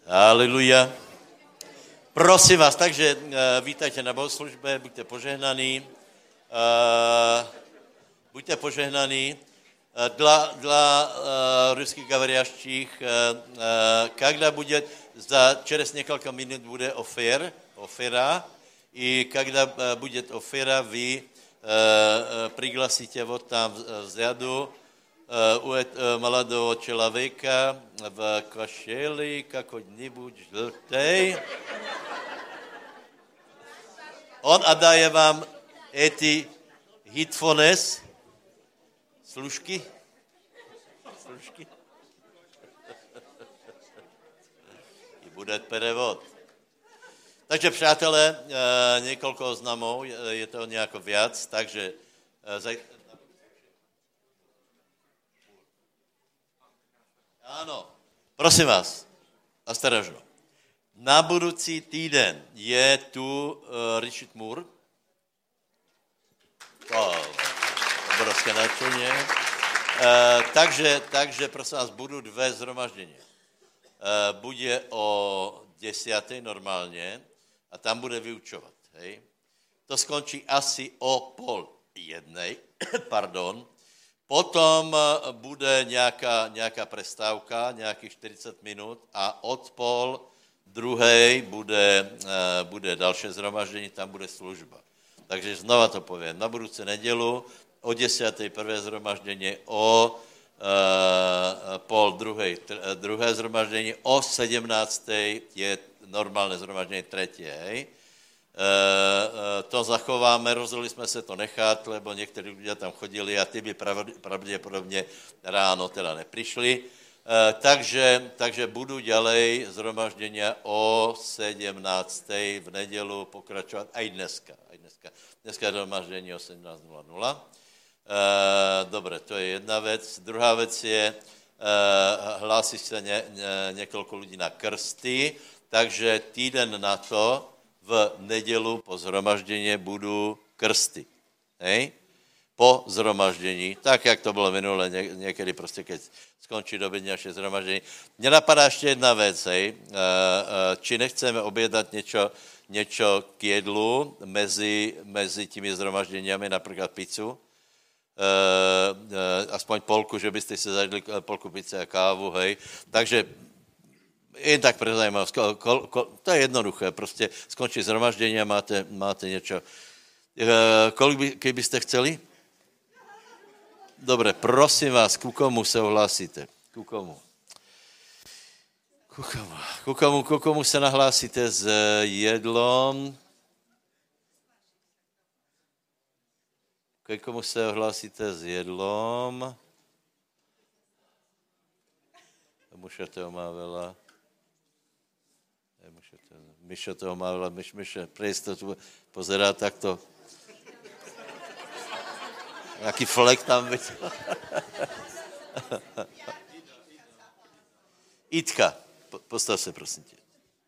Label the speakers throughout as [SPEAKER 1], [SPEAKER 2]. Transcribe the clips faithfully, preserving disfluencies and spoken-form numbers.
[SPEAKER 1] Haleluja. Prosím vás, takže uh, vítajte na bohoslužbe, buďte požehnaní. Uh, buďte požehnaní. Uh, dla dla uh, ruských говорящих, uh, uh, когда будет, за через несколько минут будет офер, офера, и когда uh, будет офера, вы uh, uh, пригласите вот там взаду uh, у uh, молодого человека в кошеле какой-нибудь желтый. Он отдает vám эти headphones, služky, služky. I bude prevod. Takže, přátelé, několik oznamov, je to nějako viac, takže áno, prosím vás, ostrožno. Na budoucí týden je tu uh, Richard Moore. Oh, obrovské nadšení. Uh, takže, takže, prosím vás, budou dvě zhromaždění. Uh, bude o desiatej normálně a tam bude vyučovat. Hej. To skončí asi o pol jednej, pardon. Potom bude nějaká, nějaká prestávka, nějakých čtyřicet minut a od pol druhej bude, bude další zhromaždění, tam bude služba. Takže znova to povím, na budoucí nedělu o desiatej prvé zhromaždění, o uh, pol druhej, tr, druhé zhromaždění, o sedmnáctej je normálné zhromaždění třetí, hej. Uh, uh, to zachováme, rozhodli jsme se to nechat, lebo někteří lidé tam chodili a ty by pravděpodobně ráno teda neprišli. Uh, takže, takže budu ďalej zhromaždění o sedmnáctej v nedělu pokračovat, aj dneska. Aj dneska. Dneska je zhromaždění o sedmnáct nula nula. Uh, dobre, to je jedna věc. Druhá věc je, uh, hlásí se ně, ně, několik lidí na krsty, takže týden na to v nedělu po zhromaždění budou krsty. Hej? Po zhromaždění, tak, jak to bylo minule, ně, někdy prostě, keď skončí doby naše zhromaždění. Mně napadá ještě jedna věc, hej? Či nechceme objednat něco, něco k jedlu mezi, mezi těmi zhromažděními, například pizzu, aspoň polku, že byste si zajedli polku pizze a kávu, hej? Takže jen tak pre zajímavost, to je jednoduché, prostě skončí zhromaždění a máte, máte něco. Kolik by, kdybyste chceli? Dobre, prosím vás, ku komu se ohlásíte? Ku komu? Ku komu? Ku komu, ku komu se nahlásíte s jedlom? Ku komu se ohlásíte s jedlom? Muša toho má veľa. Mišo toho má veľa. Myš, Myše, pre istotu pozerá takto. Jaký flek tam byť. Itka, postav se, prosím tě.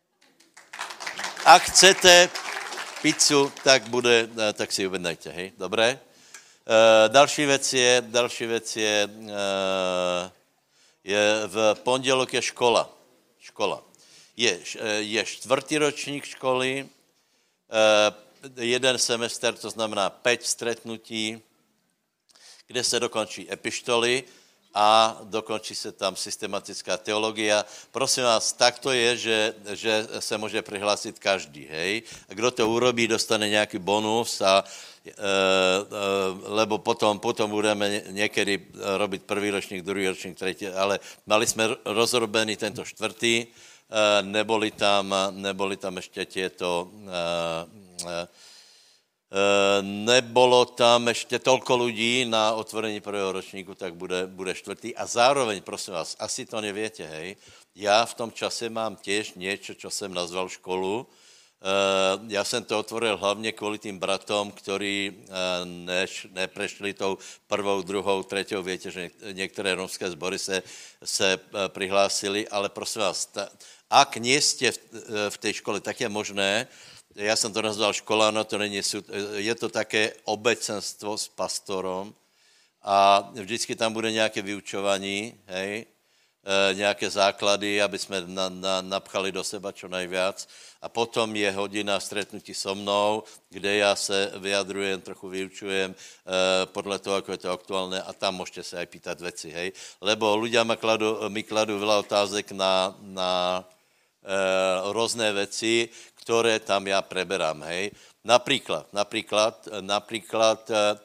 [SPEAKER 1] Ak chcete pizzu, tak bude, tak si objednajte, hej, dobré? Uh, další věc je, další věc je, uh, je v pondělok je škola. Škola. Je, je čtvrtý ročník školy, uh, jeden semestr, to znamená päť stretnutí, kde se dokončí epištoly a dokončí se tam systematická teologia. Prosím vás, tak to je, že, že se může přihlásit každý, hej. A kdo to urobí, dostane nějaký bonus, a, e, e, lebo potom, potom budeme někdy robiť prvý ročník, druhý ročník, třetí, ale mali jsme rozrobený tento čtvrtý, e, neboli tam, neboli tam ještě tieto e, e, nebolo tam ešte toľko ľudí na otvorení prvého ročníku, tak bude, bude štvrtý. A zároveň, prosím vás, asi to neviete, hej, ja v tom čase mám tiež niečo, čo som nazval školu. Ja som to otvoril hlavne kvôli tým bratom, ktorí než, neprešli tou prvou, druhou, treťou. Viete, že niektoré romské zbory se, se prihlásili, ale prosím vás, ta, ak nie ste v, v tej škole, tak je možné. Ja som to nazval škola, no to není súd, je to také obecenstvo s pastorom a vždycky tam bude nejaké vyučovanie, hej, nějaké základy, aby jsme na, na, napchali do seba čo najviac. A potom je hodina stretnutí so mnou, kde já se vyjadrujem, trochu vyučujem eh, podle toho, ako je to aktuálne a tam môžete sa aj pýtať veci, hej. Lebo ľudia mi kladú, mi kladú veľa otázek na, na eh, rôzne veci, ktoré tam ja preberám, hej. Napríklad, napríklad, napríklad eh,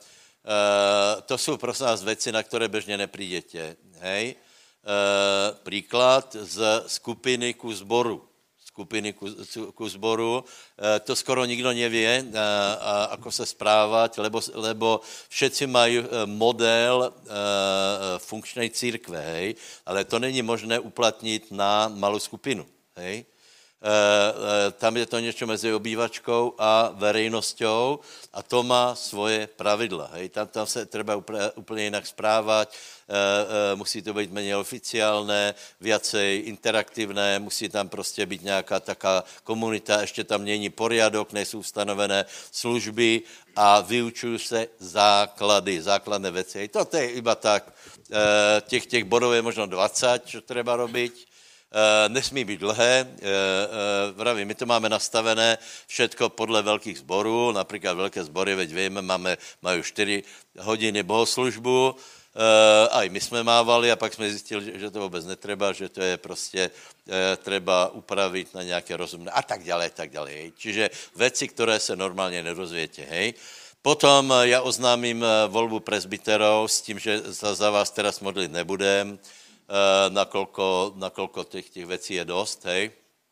[SPEAKER 1] to sú prosím vás veci, na ktoré bežne neprídete, hej. Uh, príklad z skupiny ku zboru. Skupiny ku, ku zboru. Uh, to skoro nikdo nevie, uh, uh, ako sa správať, lebo, lebo všetci majú uh, model uh, funkčnej církve, hej? Ale to není možné uplatniť na malú skupinu. Hej? Uh, uh, tam je to niečo mezi obývačkou a verejnosťou a to má svoje pravidla. Hej? Tam, tam sa treba úplne, úplne inak správať, uh, uh, musí to byť menej oficiálne, viacej interaktívne, musí tam prostě byť nejaká taká komunita, ešte tam není poriadok, nejsou stanovené služby a vyučujú se základy, základné veci. Hej? Toto je iba tak, uh, těch, těch bodov je možno dvacet, čo treba robiť. Uh, nesmí být dlhé, uh, uh, vraví, my to máme nastavené všetko podle velkých zborů, například velké zbory, veď víme, máme, mají čtyři hodiny bohoslužbu, uh, aj my jsme mávali a pak jsme zjistili, že, že to vůbec netreba, že to je prostě uh, treba upravit na nějaké rozumné a tak dále, tak dále. Hej. Čiže věci, které se normálně nerozvětě, hej. Potom uh, já oznámím uh, volbu presbyterov s tím, že za, za vás teraz modlit nebudem, Uh, nakolko, nakolko těch, těch věcí je dost, hej.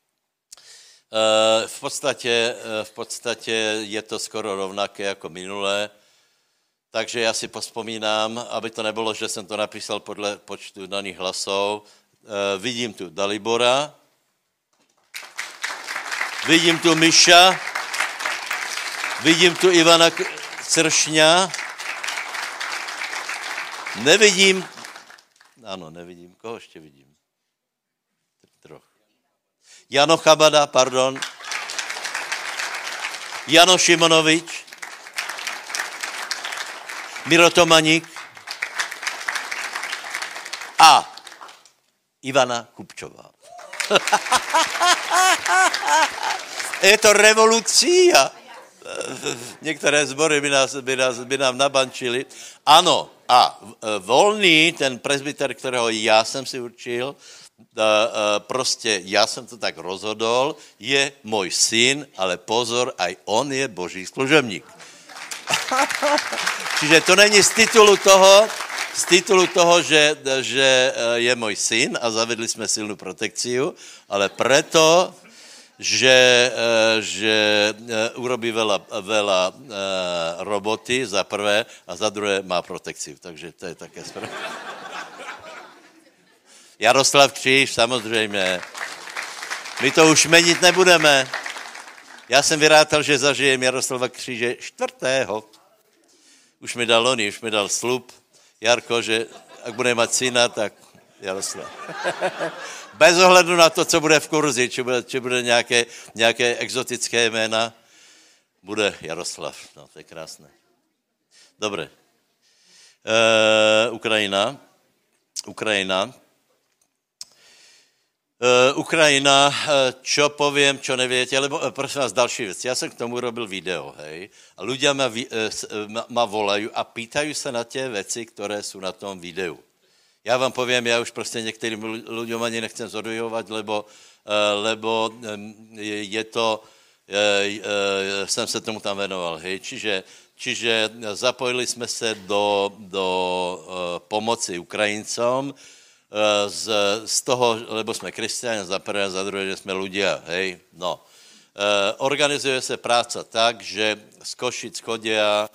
[SPEAKER 1] Uh, v podstatě, uh, v podstatě je to skoro rovnaké jako minulé, takže já si pospomínám, aby to nebylo, že jsem to napísal podle počtu daných hlasů. Uh, vidím tu Dalibora, vidím tu Miša, vidím tu Ivana Cršňa, nevidím. Ano, nevidím. Koho ještě vidím? Troch. Jano Chabada, pardon. Jano Šimonovič. Miro Tomaník. A Ivana Kupčová. Je to revolucia. Některé zbory by, nás, by, nás, by nám nabančili. Ano, a volný, ten presbyter, kterého já jsem si určil, prostě já jsem to tak rozhodol, je můj syn, ale pozor, aj on je boží služebník. Čiže to není z titulu toho, z titulu toho, že, že je můj syn a zavedli jsme silnou protekciu, ale preto, že, že urobí veľa, veľa roboty za prvé a za druhé má protekciu. Takže to je také správne. Jaroslav Kříž, samozřejmě. My to už menit nebudeme. Já jsem vyrátal, že zažijem Jaroslava Kříže čtvrtého. Už mi dal oni, už mi dal slub. Jarko, že ak bude mať syna, tak Jaroslav. Bez ohledu na to, co bude v kurzi, či bude, či bude nějaké, nějaké exotické jména, bude Jaroslav. No, to je krásné. Dobre. E, Ukrajina. Ukrajina. E, Ukrajina, čo poviem, čo neviete, lebo prosím vás, další věc. Já jsem k tomu robil video, hej, a ľudia ma, ma, ma volajú a pýtajú sa na tie veci, ktoré sú na tom videu. Já vám povím, já už prostě některým ľuďom ani nechcem zodujovat, lebo, lebo je to, jsem se tomu tam venoval, hej. Čiže, čiže zapojili jsme se do, do pomoci Ukrajincom z, z toho, lebo jsme křesťané za prvé, za druhé, že jsme ľudia, hej. No. Organizuje se práca tak, že z Košic chodia,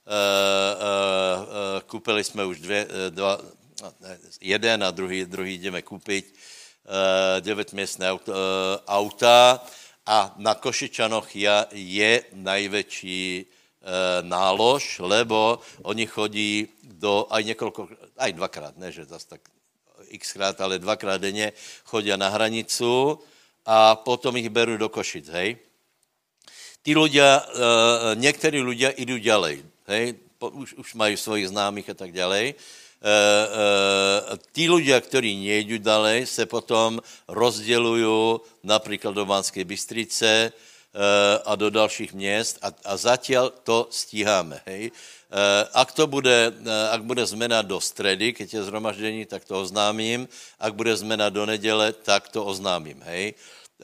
[SPEAKER 1] kúpili jsme už dvě, dva, jeden a druhý, druhý jdeme kúpiť uh, deväťmiestne auto, uh, auta a na Košičanoch je, je najväčší uh, nálož, lebo oni chodí do, aj niekoľko, aj dvakrát, ne, že zase tak xkrát, ale dvakrát denne chodia na hranicu a potom ich berú do Košic, hej. Tí ľudia, uh, niektorí ľudia idú ďalej, hej, po, už, už majú svojich známych a tak ďalej. tí ľudia, ktorí nejdu dalej, se potom rozdělují například do Banskej Bystrice a do dalších měst a, a zatiaľ to stíháme. Hej. Ak to bude, ak bude zmena do stredy, keď je zhromaždení, tak to oznámím. Ak bude zmena do neděle, tak to oznámím. Hej.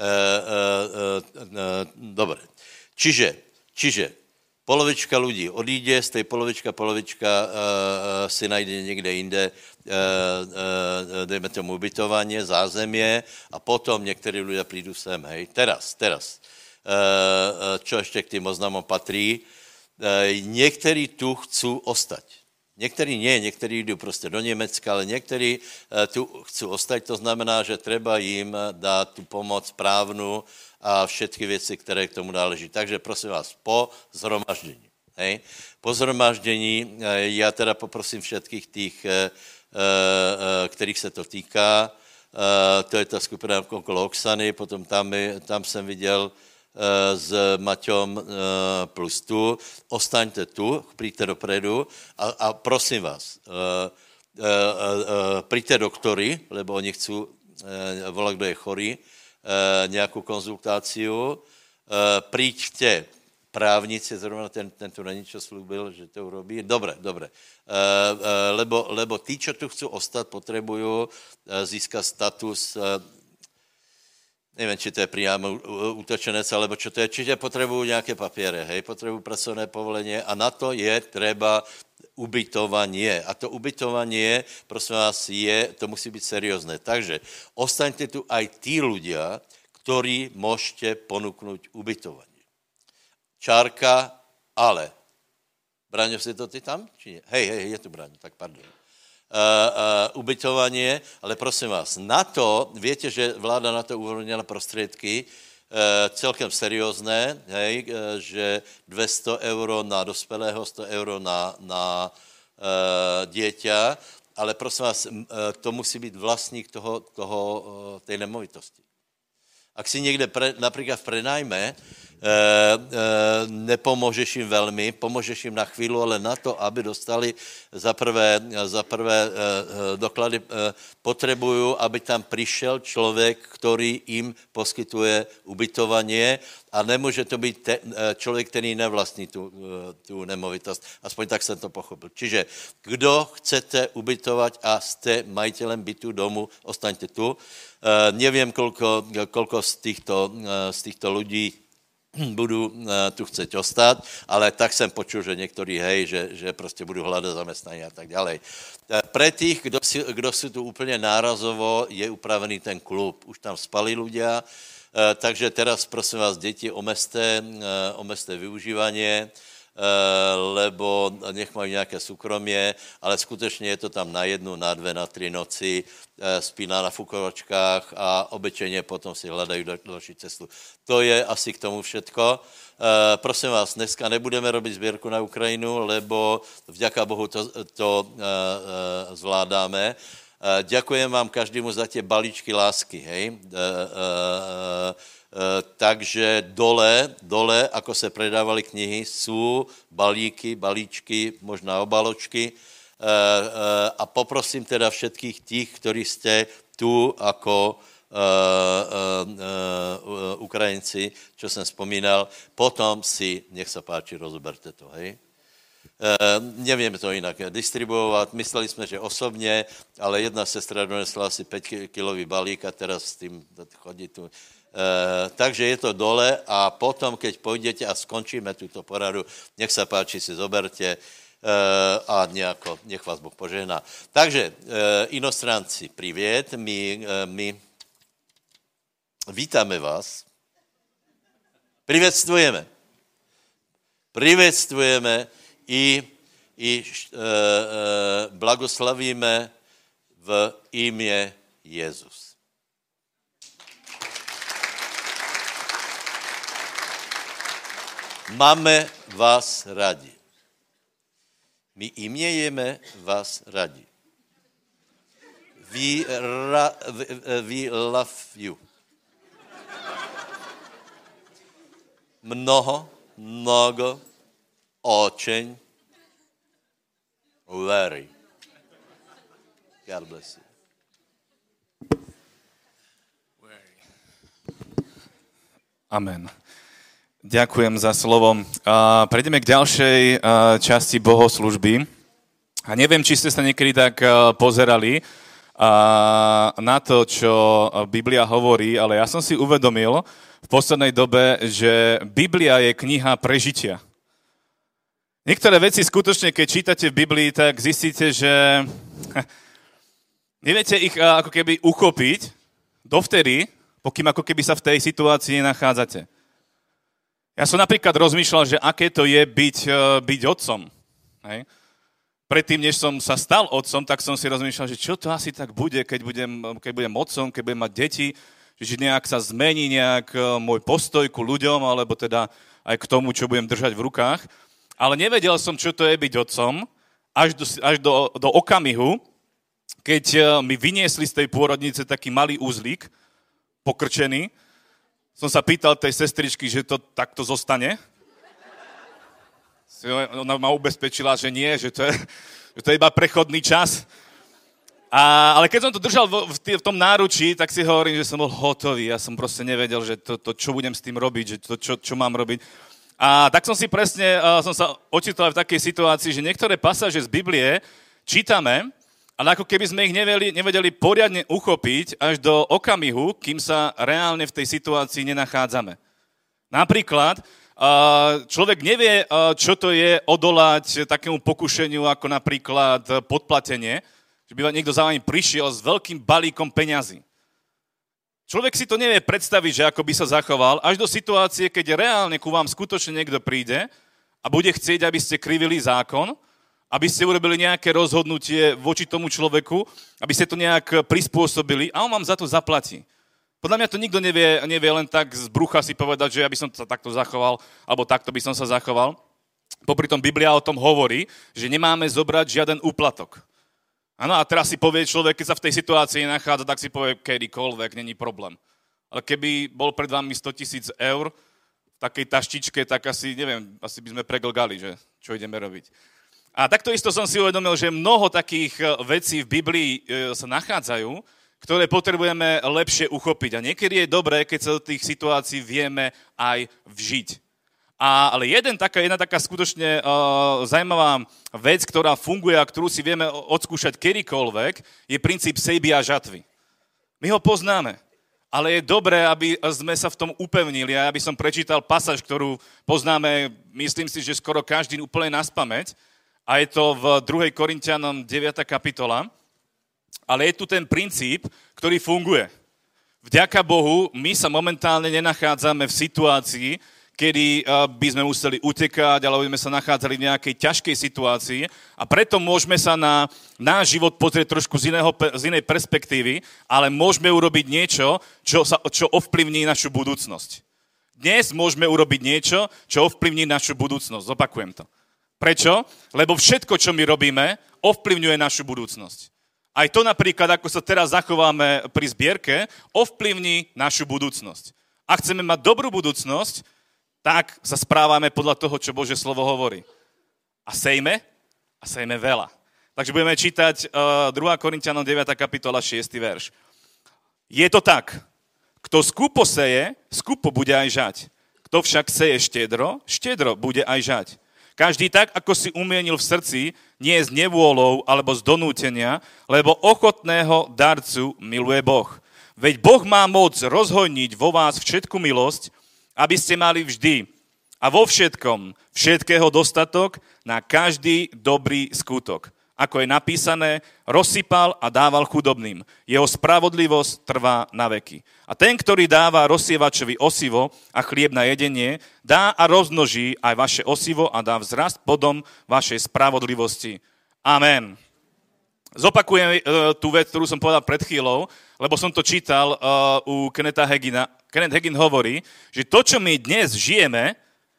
[SPEAKER 1] Dobre. Čiže, čiže polovička ľudí odíde, z tej polovička, polovička uh, si najde niekde inde, uh, uh, dejme tomu ubytovanie, zázemie a potom niektorí ľudia prídu sem, hej. Teraz, teraz. Uh, čo ešte k tým oznamom patrí? Uh, niektorí tu chcú ostať. Niektorí nie, niektorí idú proste do Nemecka, ale niektorí uh, tu chcú ostať, to znamená, že treba im dať tú pomoc právnu a všetky věci, které k tomu náleží. Takže prosím vás, po zhromaždění. Hej? Po zhromaždění, já teda poprosím všetkých těch, kterých se to týká, to je ta skupina okolo Oksany, potom tam, tam jsem viděl s Maťom plus tu, ostaňte tu, přijďte dopredu a, a prosím vás, přijďte doktory, lebo oni chcú volať, kdo je chorý, Uh, nějakou konzultáciu, uh, príďte právnici, zrovna ten, ten tu není, čo slúbil, že to urobí. Dobre, dobre. Uh, uh, lebo, lebo tí, čo tu chcú ostať, potrebujú uh, získať status, uh, neviem, či to je priamo útočenec, alebo čo to je, čiže potrebujú nejaké papiere, hej, potrebujú pracovné povolenie a na to je treba ubytovanie. A to ubytovanie, prosím vás, je, to musí byť seriózne. Takže ostaňte tu aj tí ľudia, ktorí môžete ponúknuť ubytovanie. Čárka, ale. Braňo, si to ty tam? Či nie? Hej, hej, je tu Braňo, tak pardon. Uh, uh, ubytovanie, ale prosím vás, na to, viete, že vláda na to uvoľnila prostriedky, Uh, celkem seriózne, hej, uh, že dvesto eur na dospelého, sto eur na, na uh, dieťa, ale prosím vás, uh, to musí byť vlastník toho, toho, uh, tej nemovitosti. Ak si niekde pre, napríklad v prenajme, e, e, nepomôžeš im veľmi, pomôžeš im na chvíľu, ale na to, aby dostali za prvé, za prvé e, doklady, e, potrebujú, aby tam prišiel človek, ktorý im poskytuje ubytovanie a nemôže to byť te, človek, ktorý nevlastní tú, tú nemovitosť. Aspoň tak som to pochopil. Čiže, kdo chcete ubytovať a ste majiteľem bytu domu, ostaňte tu. Uh, neviem, koľko, koľko z, týchto, uh, z týchto ľudí budú uh, tu chceť ostať, ale tak som počul, že niektorí, hej, že, že proste budú hľadať zamestnanie a tak ďalej. Uh, pre tých, kdo, si, kdo sú tu úplne nárazovo, je upravený ten klub. Už tam spali ľudia, uh, takže teraz, prosím vás, deti, omeste, uh, omeste využívanie, lebo nech majú nejaké súkromie, ale skutečne je to tam na jednu, na dve, na tri noci, spí na nafukovačkách a obyčejne potom si hľadajú další cestu. To je asi k tomu všetko. Prosím vás, dneska nebudeme robiť zbierku na Ukrajinu, lebo vďaka Bohu to, to zvládáme. Ďakujem vám každému za tie balíčky lásky, hej. Uh, takže dole, dole, ako se predávali knihy, sú balíky, balíčky, možná obaločky uh, uh, a poprosím teda všetkých tých, ktorí ste tu ako uh, uh, uh, Ukrajinci, čo som spomínal, potom si, nech sa páči, rozoberte to, hej. Uh, nevieme to inak distribuovať, mysleli sme, že osobne, ale jedna sestra donesla asi päť kilový balík a teraz s tým chodí tu. Uh, takže je to dole a potom, keď pôjdete a skončíme túto poradu, nech sa páči, si zoberte uh, a nejako, nech vás Boh požehná. Takže, uh, inostranci, priviet, my, uh, my vítame vás, privetvujeme, privetvujeme i, i uh, uh, blagoslavíme v imie Jezus. Máme vás radi. My imiejeme vás radi. We, ra, we love you. Mnoho, mnogo, očeň, very. God bless you.
[SPEAKER 2] Amen. Ďakujem za slovo. Uh, prejdeme k ďalšej uh, časti bohoslúžby. A neviem, či ste sa niekedy tak uh, pozerali uh, na to, čo Biblia hovorí, ale ja som si uvedomil v poslednej dobe, že Biblia je kniha prežitia. Niektoré veci skutočne, keď čítate v Biblii, tak zistíte, že neviete ich uh, ako keby uchopiť dovtedy, pokým ako keby sa v tej situácii nachádzate. Ja som napríklad rozmýšľal, že aké to je byť, byť otcom. Hej. Predtým, než som sa stal otcom, tak som si rozmýšľal, že čo to asi tak bude, keď budem, keď budem otcom, keď budem mať deti, že nejak sa zmení nejak môj postoj ku ľuďom, alebo teda aj k tomu, čo budem držať v rukách. Ale nevedel som, čo to je byť otcom, až do, až do, do okamihu, keď mi vyniesli z tej pôrodnice taký malý úzlík, pokrčený, som sa pýtal tej sestričky, že to takto zostane. Ona ma ubezpečila, že nie, že to je, že to je iba prechodný čas. A, ale keď som to držal v, v, v tom náručí, tak si hovorím, že som bol hotový. Ja som proste nevedel, že to, to čo budem s tým robiť, že to, čo, čo mám robiť. A tak som si presne, uh, som sa ocitol v takej situácii, že niektoré pasáže z Biblie čítame, ale ako keby sme ich nevedeli, nevedeli poriadne uchopiť až do okamihu, kým sa reálne v tej situácii nenachádzame. Napríklad, človek nevie, čo to je odolať takému pokušeniu, ako napríklad podplatenie, že by niekto za vami prišiel s veľkým balíkom peňazí. Človek si to nevie predstaviť, že ako by sa zachoval, až do situácie, keď reálne ku vám skutočne niekto príde a bude chcieť, aby ste krivili zákon, aby ste urobili nejaké rozhodnutie voči tomu človeku, aby ste to nejak prispôsobili a on vám za to zaplatí. Podľa mňa to nikto nevie, nevie len tak z brucha si povedať, že ja by som sa takto zachoval, alebo takto by som sa zachoval. Popri tom Biblia o tom hovorí, že nemáme zobrať žiaden úplatok. Áno, a teraz si povie človek, keď sa v tej situácii nachádza, tak si povie kedykoľvek, není problém. Ale keby bol pred vami sto tisíc eur v takej taštičke, tak asi, neviem, asi by sme preglgali, že čo ideme robiť. A takto isto som si uvedomil, že mnoho takých vecí v Biblii sa nachádzajú, ktoré potrebujeme lepšie uchopiť. A niekedy je dobré, keď sa do tých situácií vieme aj vžiť. A, ale jeden taká, jedna taká skutočne uh, zaujímavá vec, ktorá funguje a ktorú si vieme odskúšať kedykoľvek, je princíp sejby a žatvy. My ho poznáme, ale je dobré, aby sme sa v tom upevnili. A ja by som prečítal pasáž, ktorú poznáme, myslím si, že skoro každý úplne naspamäť. A je to v druhej Korinťanom deviata kapitola. Ale je tu ten princíp, ktorý funguje. Vďaka Bohu, my sa momentálne nenachádzame v situácii, kedy by sme museli utekať, alebo by sme sa nachádzali v nejakej ťažkej situácii. A preto môžeme sa na náš život pozrieť trošku z, iného, z inej perspektívy, ale môžeme urobiť niečo, čo, sa, čo ovplyvní našu budúcnosť. Dnes môžeme urobiť niečo, čo ovplyvní našu budúcnosť. Zopakujem to. Prečo? Lebo všetko, čo my robíme, ovplyvňuje našu budúcnosť. Aj to napríklad, ako sa teraz zachováme pri zbierke, ovplyvní našu budúcnosť. Ak chceme mať dobrú budúcnosť, tak sa správame podľa toho, čo Božie slovo hovorí. A sejme, a sejme veľa. Takže budeme čítať uh, druhá Korinťanom deviata kapitola šiesty verš. Je to tak, kto skupo seje, skupo bude aj žať. Kto však seje štedro, štedro bude aj žať. Každý tak, ako si umienil v srdci, nie z nevôľou alebo z donútenia, lebo ochotného darcu miluje Boh. Veď Boh má moc rozhojniť vo vás všetku milosť, aby ste mali vždy a vo všetkom všetkého dostatok na každý dobrý skutok. Ako je napísané, rozsypal a dával chudobným. Jeho spravodlivosť trvá na veky. A ten, ktorý dáva rozsievačovi osivo a chlieb na jedenie, dá a rozmnoží aj vaše osivo a dá vzrast plodom vašej spravodlivosti. Amen. Zopakujem uh, tú vec, ktorú som povedal pred chvíľou, lebo som to čítal uh, u Kennetha Hagina. Kenneth Hagin hovorí, že to, čo my dnes žijeme,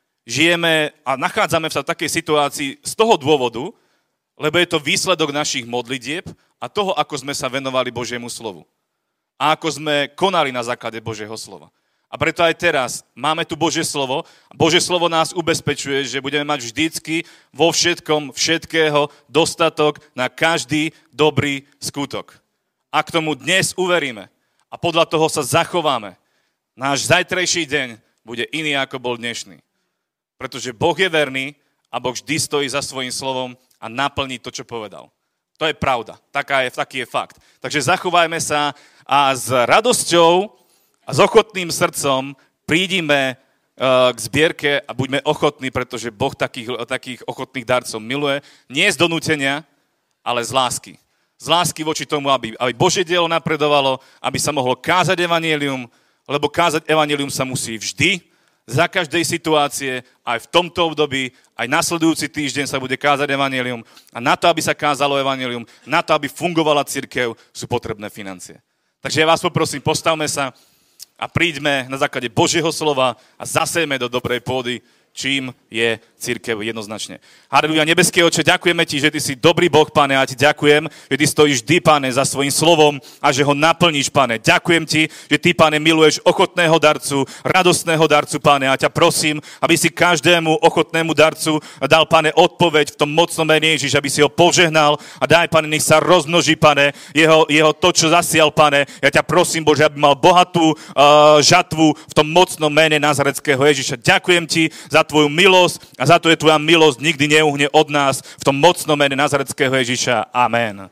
[SPEAKER 2] žijeme a nachádzame sa v takej situácii z toho dôvodu, lebo je to výsledok našich modlitieb a toho, ako sme sa venovali Božiemu slovu. A ako sme konali na základe Božieho slova. A preto aj teraz máme tu Božie slovo. Božie slovo nás ubezpečuje, že budeme mať vždycky vo všetkom, všetkého dostatok na každý dobrý skutok. A k tomu dnes uveríme a podľa toho sa zachováme, náš zajtrajší deň bude iný, ako bol dnešný. Pretože Boh je verný a Boh vždy stojí za svojím slovom a naplní to, čo povedal. To je pravda. Taká je, taký je fakt. Takže zachovajme sa a s radosťou a s ochotným srdcom prídime uh, k zbierke a buďme ochotní, pretože Boh takých, takých ochotných darcov miluje. Nie z donútenia, ale z lásky. Z lásky voči tomu, aby, aby Božie dielo napredovalo, aby sa mohlo kázať evanjelium, lebo kázať evanjelium sa musí vždy, za každej situácie, aj v tomto období, aj nasledujúci týždeň sa bude kázať evanjelium. A na to, aby sa kázalo evanjelium, na to, aby fungovala cirkev, sú potrebné financie. Takže ja vás poprosím, postavme sa a príďme na základe Božieho slova a zasejme do dobrej pôdy, čím je cirkev jednoznačne. Halelúja, nebeský Oče, ďakujeme ti, že ty si dobrý Boh, Pane, a ti ďakujem, že ty stojíš vždy, Pane, za svojím slovom a že ho naplníš, Pane. Ďakujem ti, že ty, Pane, miluješ ochotného darcu, radostného darcu, Pane, a ťa prosím, aby si každému ochotnému darcu dal, Pane, odpoveď v tom mocnom mene Ježiš, aby si ho požehnal a daj, Pane, nech sa rozmnoží, Pane, jeho, jeho to, čo zasial, Pane. Ja ťa prosím, Bože, aby mal bohatú uh, žatvu v tom mocnom mene Nazaretského Ježiša. Ďakujem ti za tvoju milosť a za to je tvoja milosť nikdy neuhne od nás v tom mocnom mene Nazaretského Ježiša. Amen.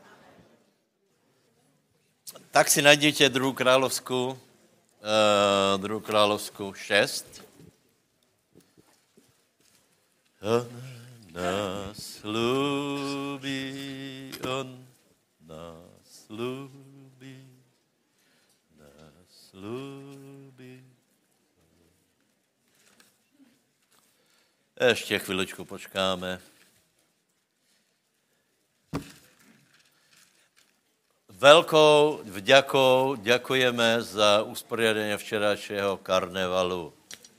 [SPEAKER 1] Tak si najdete druhú kráľovskú, uh, druhú kráľovskú šesť. On nás ľúbi, on nás ľúbi, nás ľúbi. Ešte chvíľočku počkáme. Veľkou vďakou ďakujeme za usporiadanie včerajšieho karnevalu.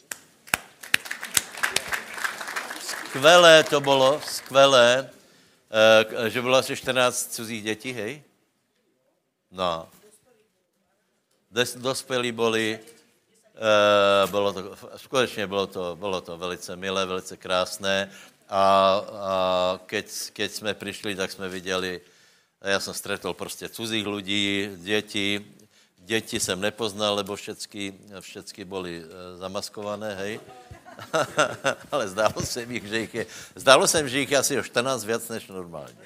[SPEAKER 1] Skvelé to bolo, skvelé, že bylo asi štrnásť cudzích detí, hej? No. Des, dospělí boli, Uh, bylo to, skutečně bylo to, bylo to velice milé, velice krásné a, a keď, keď jsme přišli, tak jsme viděli, já jsem stretol prostě cudzích lidí, děti, děti jsem nepoznal, lebo všetky, všetky byly zamaskované, hej. Ale zdálo se mi, že jich je, zdálo se mi, že jich je asi o štrnásť viac než normálně.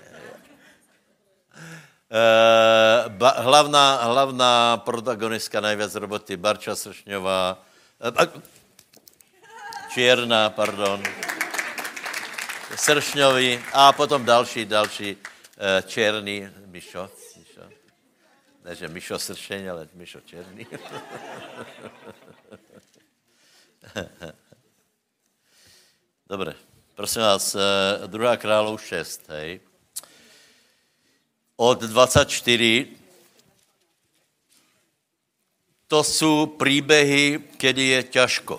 [SPEAKER 1] Uh, ba, hlavná, hlavná protagonistka najviac roboty, Barča Sršňová, uh, Čierna, pardon, Sršňový a potom další, další uh, Černý, Mišo, Mišo, ne, že Mišo Sršeň, ale Mišo Černý. Dobre, prosím vás, uh, druhá kráľov šesť, hej. Od dvadsaťštyri. To sú príbehy, kedy je ťažko.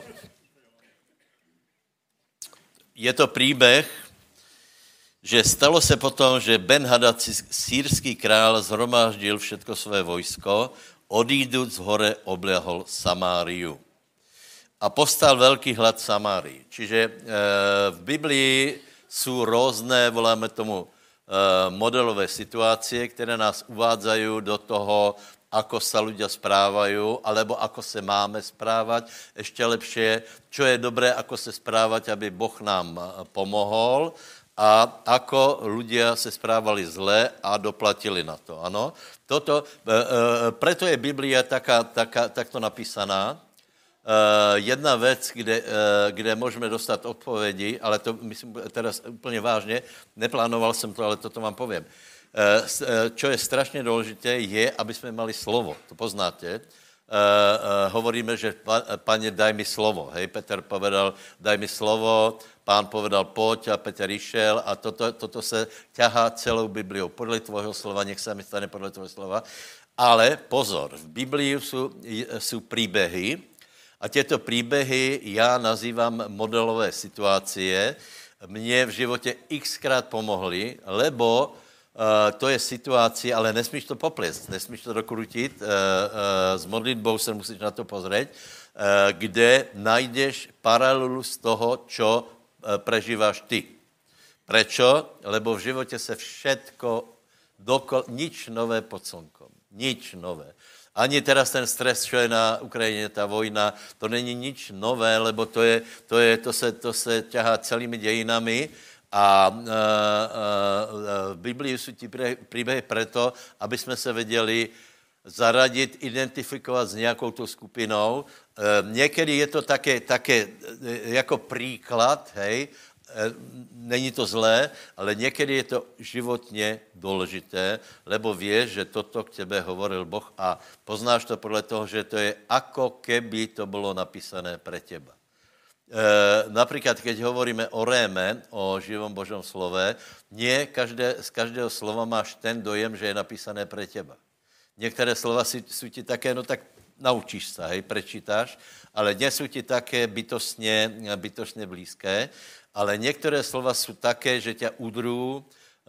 [SPEAKER 1] Je to príbeh, že stalo se potom, že Ben-Hadad, sýrský král, zhromáždil všetko své vojsko, odíduc z hore obliahol Samáriu. A povstal veľký hlad v Samárii. Čiže e, v Biblii sú rôzne, voláme tomu, modelové situácie, které nás uvádzajú do toho, ako sa ľudia správajú, alebo ako se máme správať. Ešte lepšie, čo je dobré, ako se správať, aby Boh nám pomohol a ako ľudia se správali zle a doplatili na to. Ano? Toto, preto je Biblia taká, taká, takto napísaná. Uh, jedna vec, kde, uh, kde môžeme dostať odpovedi, ale to myslím teraz úplne vážne, neplánoval som to, ale toto vám poviem. Uh, čo je strašne dôležité, je, aby sme mali slovo. To poznáte. Uh, uh, hovoríme, že Pane, daj mi slovo. Hej, Peter povedal, daj mi slovo, Pán povedal, poď a Peter išiel a toto, toto sa ťahá celou Bibliou. Podľa tvojho slova, nech sa mi stane podľa tvojho slova. Ale pozor, v Biblii sú, sú príbehy, a tieto príbehy ja nazývam modelové situácie. Mne v živote xkrát pomohli, lebo Uh, to je situace, ale nesmíš to poplést, nesmíš to dokrutit, uh, uh, s modlitbou se musíš na to pozrieť, uh, kde najdeš paralelu z toho, čo uh, prežíváš ty. Prečo? Lebo v životě se všetko, dokol, nič nové pod slnkom, nič nové. Ani teraz ten stres, čo je na Ukrajině, ta vojna, to není nič nové, lebo to, je, to, je, to, se, to se ťahá celými dějinami. A uh, uh, v Biblii sú ti príbehy preto, aby sme sa vedeli zaradiť, identifikovat s nějakou tou skupinou. Uh, někdy je to také, také jako příklad, hej, uh, není to zlé, ale někdy je to životně důležité, lebo vieš, že toto k tebe hovoril Boh a poznáš to podle toho, že to je ako keby to bylo napísané pre teba. E, napríklad, keď hovoríme o réme, o živom Božom slove, nie každé, z každého slova máš ten dojem, že je napísané pre teba. Některé slova sú, sú ti také, no tak naučíš sa, hej, prečítáš, ale nie sú ti také bytostne, bytostne blízké, ale některé slova sú také, že ťa udrú, e,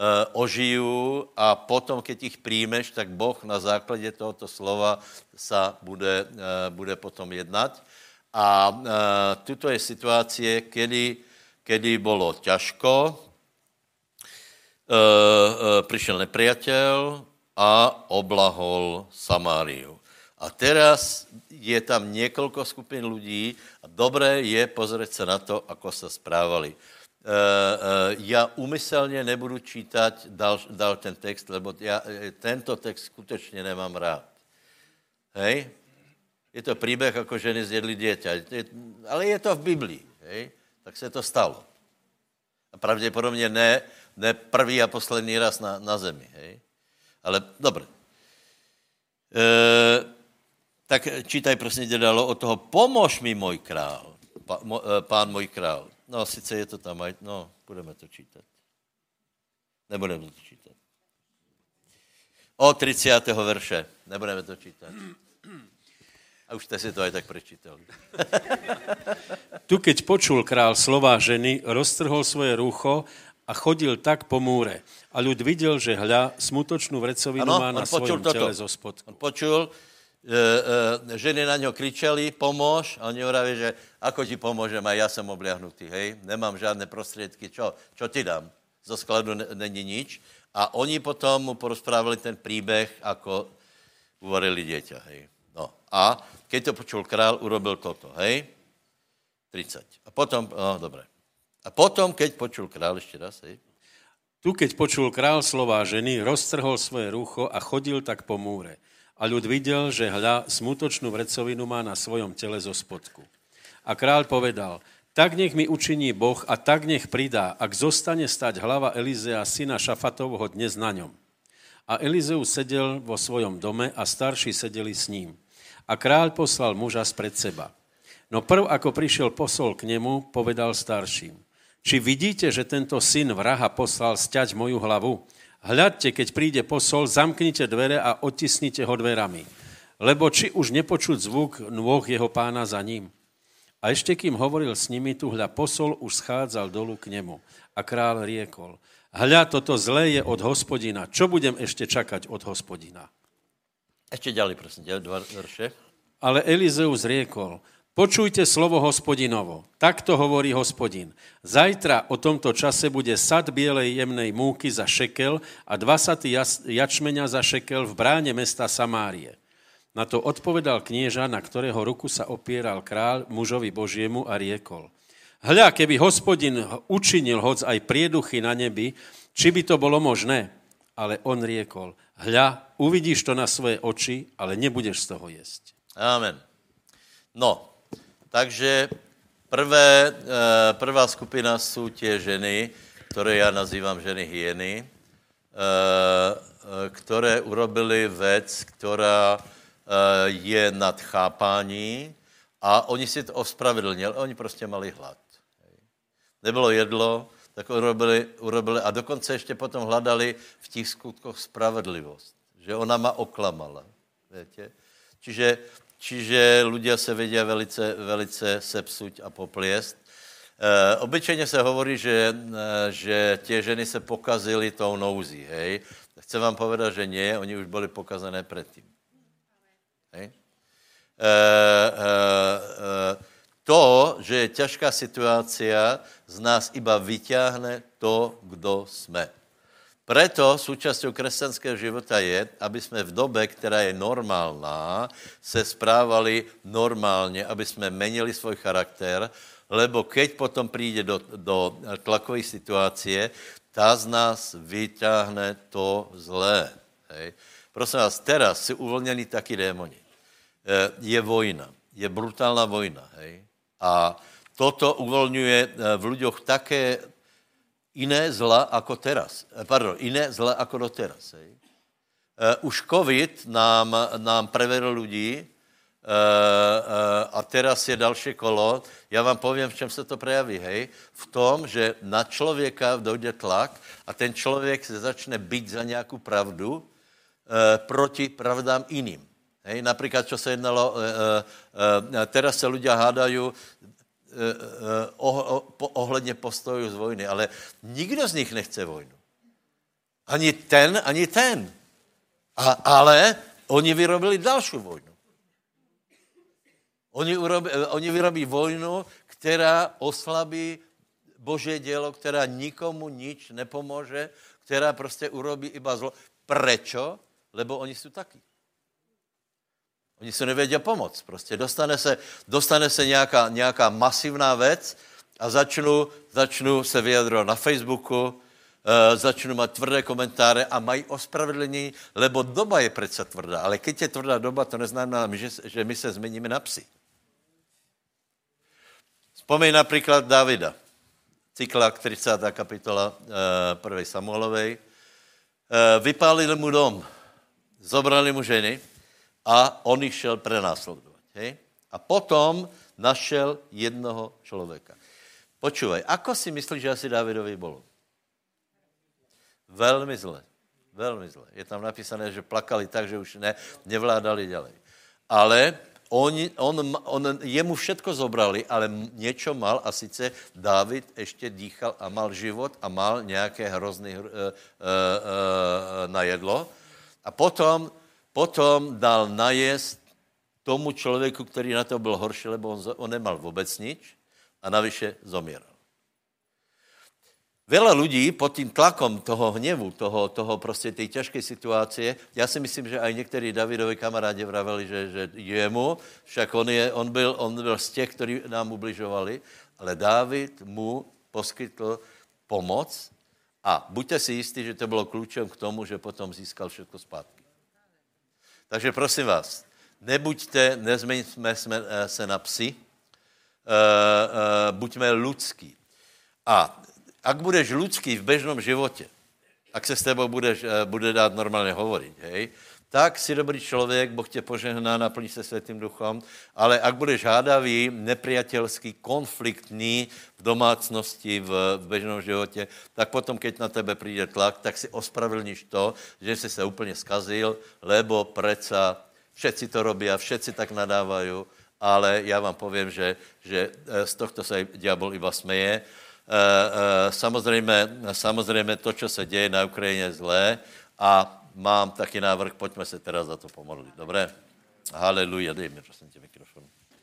[SPEAKER 1] ožijú a potom, keď ich príjmeš, tak Boh na základě tohoto slova sa bude, e, bude potom jednať. A e, tuto je situácie, kedy, kedy bolo ťažko, e, e, prišiel nepriateľ a oblahol Samáriu. A teraz je tam niekoľko skupín ľudí a dobré je pozrieť sa na to, ako sa správali. E, e, ja umyselne nebudu čítať dal, dal ten text, lebo ja tento text skutečne nemám rád. Hej? Je to príbeh, ako ženy zjedli dieťa. Ale je to v Biblii. Hej? Tak se to stalo. A pravděpodobně ne, ne prvý a poslední raz na, na zemi. Hej? Ale dobré. E, tak čítaj prosím tě dalo od toho, pomož mi můj král. Pa, mo, pán můj král. No, sice je to tam, no, budeme to čítat. Nebudeme to čítat. Od tridsiateho verše. Nebudeme to čítat. A už ste si to aj tak prečítali.
[SPEAKER 3] Tu, keď počul král slová ženy, roztrhol svoje rúcho a chodil tak po múre. A ľud videl, že hľa, smutočnú vrecovinu ano, má na svojom toto. Tele zo spodku.
[SPEAKER 1] On počul, e, e, ženy na ňo kričali, pomôž, a oni hovorí, že ako ti pomôžem, a ja som obliahnutý, hej, nemám žiadne prostriedky, čo, čo ti dám? Zo skladu není nič. A oni potom mu porozprávali ten príbeh, ako uvarili dieťa, hej. No a keď to počul král, urobil toto, hej? tridsať. A potom, no dobre. A potom, keď počul král, ešte raz, hej?
[SPEAKER 3] Tu, keď počul král slová ženy, roztrhol svoje rúcho a chodil tak po múre. A ľud videl, že hľa, smutočnú vrecovinu má na svojom tele zo spodku. A král povedal, tak nech mi učiní Boh a tak nech pridá, ak zostane stať hlava Elizea, syna Šafatovho, dnes na ňom. A Elizeus sedel vo svojom dome a starší sedeli s ním. A kráľ poslal muža spred seba. No prv, ako prišiel posol k nemu, povedal starším. Či vidíte, že tento syn vraha poslal sťať moju hlavu? Hľadte, keď príde posol, zamknite dvere a odtisnite ho dverami. Lebo či už nepočuť zvuk nôh jeho pána za ním? A ešte kým hovoril s nimi, tu hľa posol už schádzal dolu k nemu. A kráľ riekol, hľa, toto zlé je od Hospodina. Čo budem ešte čakať od Hospodina?
[SPEAKER 1] Ešte ďalej, prosím, dva verše.
[SPEAKER 3] Ale Elizeus riekol, počujte slovo Hospodinovo. Takto hovorí Hospodin. Zajtra o tomto čase bude sad bielej jemnej múky za šekel a dva saty jačmeňa za šekel v bráne mesta Samárie. Na to odpovedal knieža, na ktorého ruku sa opieral král mužovi Božiemu a riekol. Hľa, keby Hospodin učinil hoc aj prieduchy na nebi, či by to bolo možné? Ale on riekol, hľa, uvidíš to na svoje oči, ale nebudeš z toho jesť.
[SPEAKER 1] Amen. No, takže prvé, prvá skupina sú tie ženy, ktoré ja nazývam ženy hyeny, ktoré urobili vec, ktorá je nad chápání a oni si to ospravedlnili, oni prostě mali hlad. Nebylo jedlo, tak urobili, urobili a dokonce ještě potom hledali v těch skutkoch spravedlivost, že ona ma oklamala. Viete? Čiže, čiže ľudia se vedia velice, velice sepsuť a popliesť. obyčejně se hovorí, že, že tie ženy se pokazily tou nouzí, hej. Chcem vám povedať, že nie, oni už byli pokazané předtím. Hej. E, e, e, To, že je ťažká situácia, z nás iba vyťahne to, kdo sme. Preto súčasťou kresťanského života je, aby sme v dobe, která je normálna, se správali normálně, aby sme menili svoj charakter, lebo keď potom príde do, do tlakovej situácie, tá z nás vyťahne to zlé. Hej. Prosím vás, teraz si uvolněni taky démoni. Je vojna, je brutálna vojna, hej. A toto uvoľňuje v ľuďoch také iné zla ako teraz. Pardon, iné zla ako doteraz. Hej. Už COVID nám, nám preveril ľudí a teraz je dalšie kolo. Ja vám poviem, v čem sa to prejaví. Hej. V tom, že na člověka dojde tlak a ten člověk se začne byť za nějakou pravdu proti pravdám iným. Hej, napríklad, čo sa jednalo, e, e, e, teraz sa ľudia hádajú e, e, oh, oh, ohledne postojů z vojny, ale nikdo z nich nechce vojnu. Ani ten, ani ten. A, ale oni vyrobili dalšiu vojnu. Oni, urobí, oni vyrobí vojnu, která oslabí Božie dielo, která nikomu nič nepomôže, která prostě urobí iba zlo. Prečo? Lebo oni sú takí. Oni se nevědí pomoct. Prostě dostane se, dostane se nějaká, nějaká masivná věc a začnu, začnu se vyjadrovat na Facebooku, e, začnu mít tvrdé komentáře a mají ospravedlnění, lebo doba je přece tvrdá. Ale když je tvrdá doba, to neznamená, že, že my se změníme na psy. Vzpomeň například Davida. Cyklák, třicátá kapitola e, prvej Samuelovej. E, vypálili mu dom, zobrali mu ženy, a on ich šel prenásledovať. Hej? A potom našel jednoho človeka. Počúvaj, ako si myslíš, že asi Dávidovi bolo? Veľmi zle. Veľmi zle. Je tam napísané, že plakali tak, že už ne, nevládali ďalej. Ale on, on, on, jemu všetko zobrali, ale niečo mal a sice Dávid ešte dýchal a mal život a mal nejaké hrozný uh, uh, uh, na jedlo. A potom Potom dal najesť tomu člověku, který na to byl horší, lebo on, on nemal vůbec nič a navyše zomieral. Veľa ľudí pod tým tlakom toho hnevu, toho, toho prostě tej ťažkej situácie, já si myslím, že aj někteří Davidovi kamarádi vraveli, že, že jemu, však on, je, on, byl, on byl z těch, ktorí nám ubližovali, ale Dávid mu poskytl pomoc a buďte si jistí, že to bylo kľúčom k tomu, že potom získal všetko zpátky. Takže prosím vás, nebuďte, nezmeňme se na psy, buďme ľudský. A ak budeš ľudský v bežnom životě, ak se s tebou budeš, bude dát normálně hovoriť, hej, tak si dobrý člověk, Boh tě požehná, naplní se Svätým Duchom, ale ak budeš hádavý, nepriateľský, konfliktný v domácnosti, v, v bežnom životě, tak potom, keď na tebe přijde tlak, tak si ospravedlníš to, že si se úplně skazil, lebo preca všetci to robí a všetci tak nadávajú, ale já vám povím, že, že z tohto se diabol iba smeje. Samozřejmě, samozřejmě to, čo se děje na Ukrajině, je zlé a mám taky návrh, pojďme se teda za to pomodlit. Dobré? Haleluja, dej mi prosím tě mikrofon.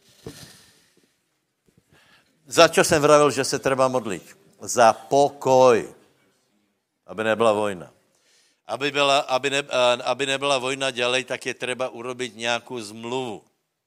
[SPEAKER 1] Za čo jsem vravil, že se treba modlit? Za pokoj. Aby nebyla vojna. Aby, byla, aby, ne, aby nebyla vojna ďalej, tak je treba urobiť nějakou zmluvu.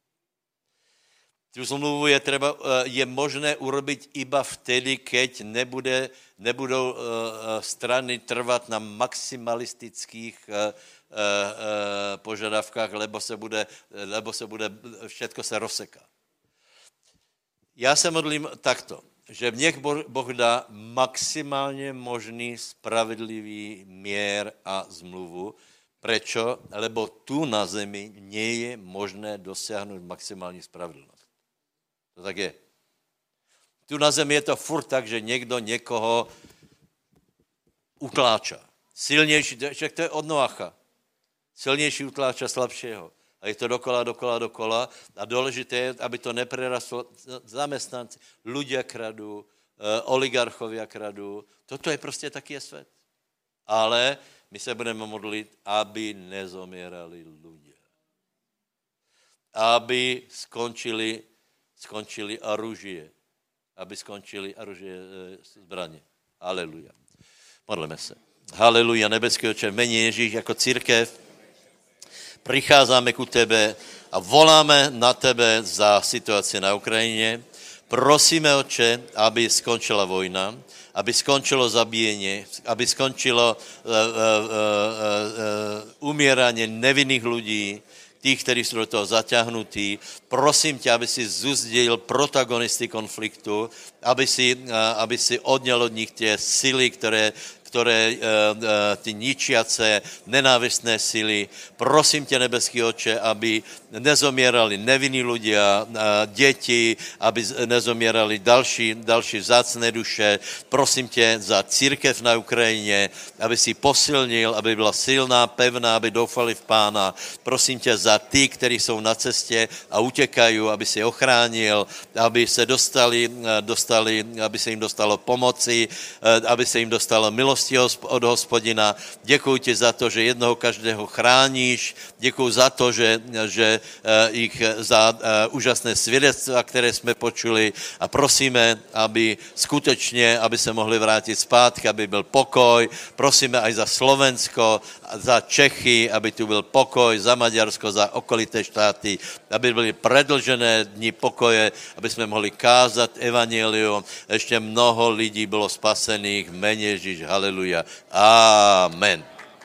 [SPEAKER 1] Tu zmluvu je, treba, je možné urobiť iba vtedy, keď nebude, nebudou strany trvat na maximalistických požadavkách, lebo se bude, lebo se bude všetko se rozseká. Já se modlím takto, že nech Boh dá maximálně možný spravedlivý mier a zmluvu. Prečo? Lebo tu na zemi nie je možné dosiahnuť maximální spravedlnost. To tak je. Tu na zemi je to furt tak, že někdo někoho utláča. Silnější, však to je od Noacha. Silnější utláča slabšího. A je to dokola, dokola, dokola. A důležité je, aby to neprerastlo zamestnanci. Ľudia kradú, oligarchovia kradú. Toto je prostě taky je svět. Ale my se budeme modlit, aby nezomierali ľudia. Aby skončili, skončili oružie. Aby skončili oružie zbraně. Haleluja. Modlíme se. Haleluja, nebeský Otče, v mene Ježíš jako církev pricházíme ku tebe a voláme na tebe za situaci na Ukrajině. Prosíme, Otče, aby skončila vojna, aby skončilo zabíjení, aby skončilo uh, uh, uh, uh, umírání nevinných lidí, těch, kteří jsou do toho zaťahnutí. Prosím tě, aby si zuzdil protagonisty konfliktu, aby si, uh, aby si odněl od nich tě síly, které které uh, uh, ty ničiace, nenávistné síly. Prosím tě, nebeský Otče, aby nezomierali nevinní ľudia, uh, děti, aby nezomierali další, další vzácné duše. Prosím tě za církev na Ukrajině, aby si posilnil, aby byla silná, pevná, aby doufali v Pána. Prosím tě za ty, kteří jsou na cestě a utekají, aby si ochránil, aby se dostali, dostali, aby se jim dostalo pomoci, uh, aby se jim dostalo milosti od Hospodina. Děkuji ti za to, že jednoho každého chráníš. Děkuji za to, že, že ich za úžasné svědectva, které jsme počuli a prosíme, aby skutečně, aby se mohli vrátit zpátky, aby byl pokoj. Prosíme aj za Slovensko, za Čechy, aby tu byl pokoj, za Maďarsko, za okolité štáty, aby byly predlžené dni pokoje, aby jsme mohli kázat evangelium. Ještě mnoho lidí bylo spasených v mene Ježíš. Haleluja. Amen.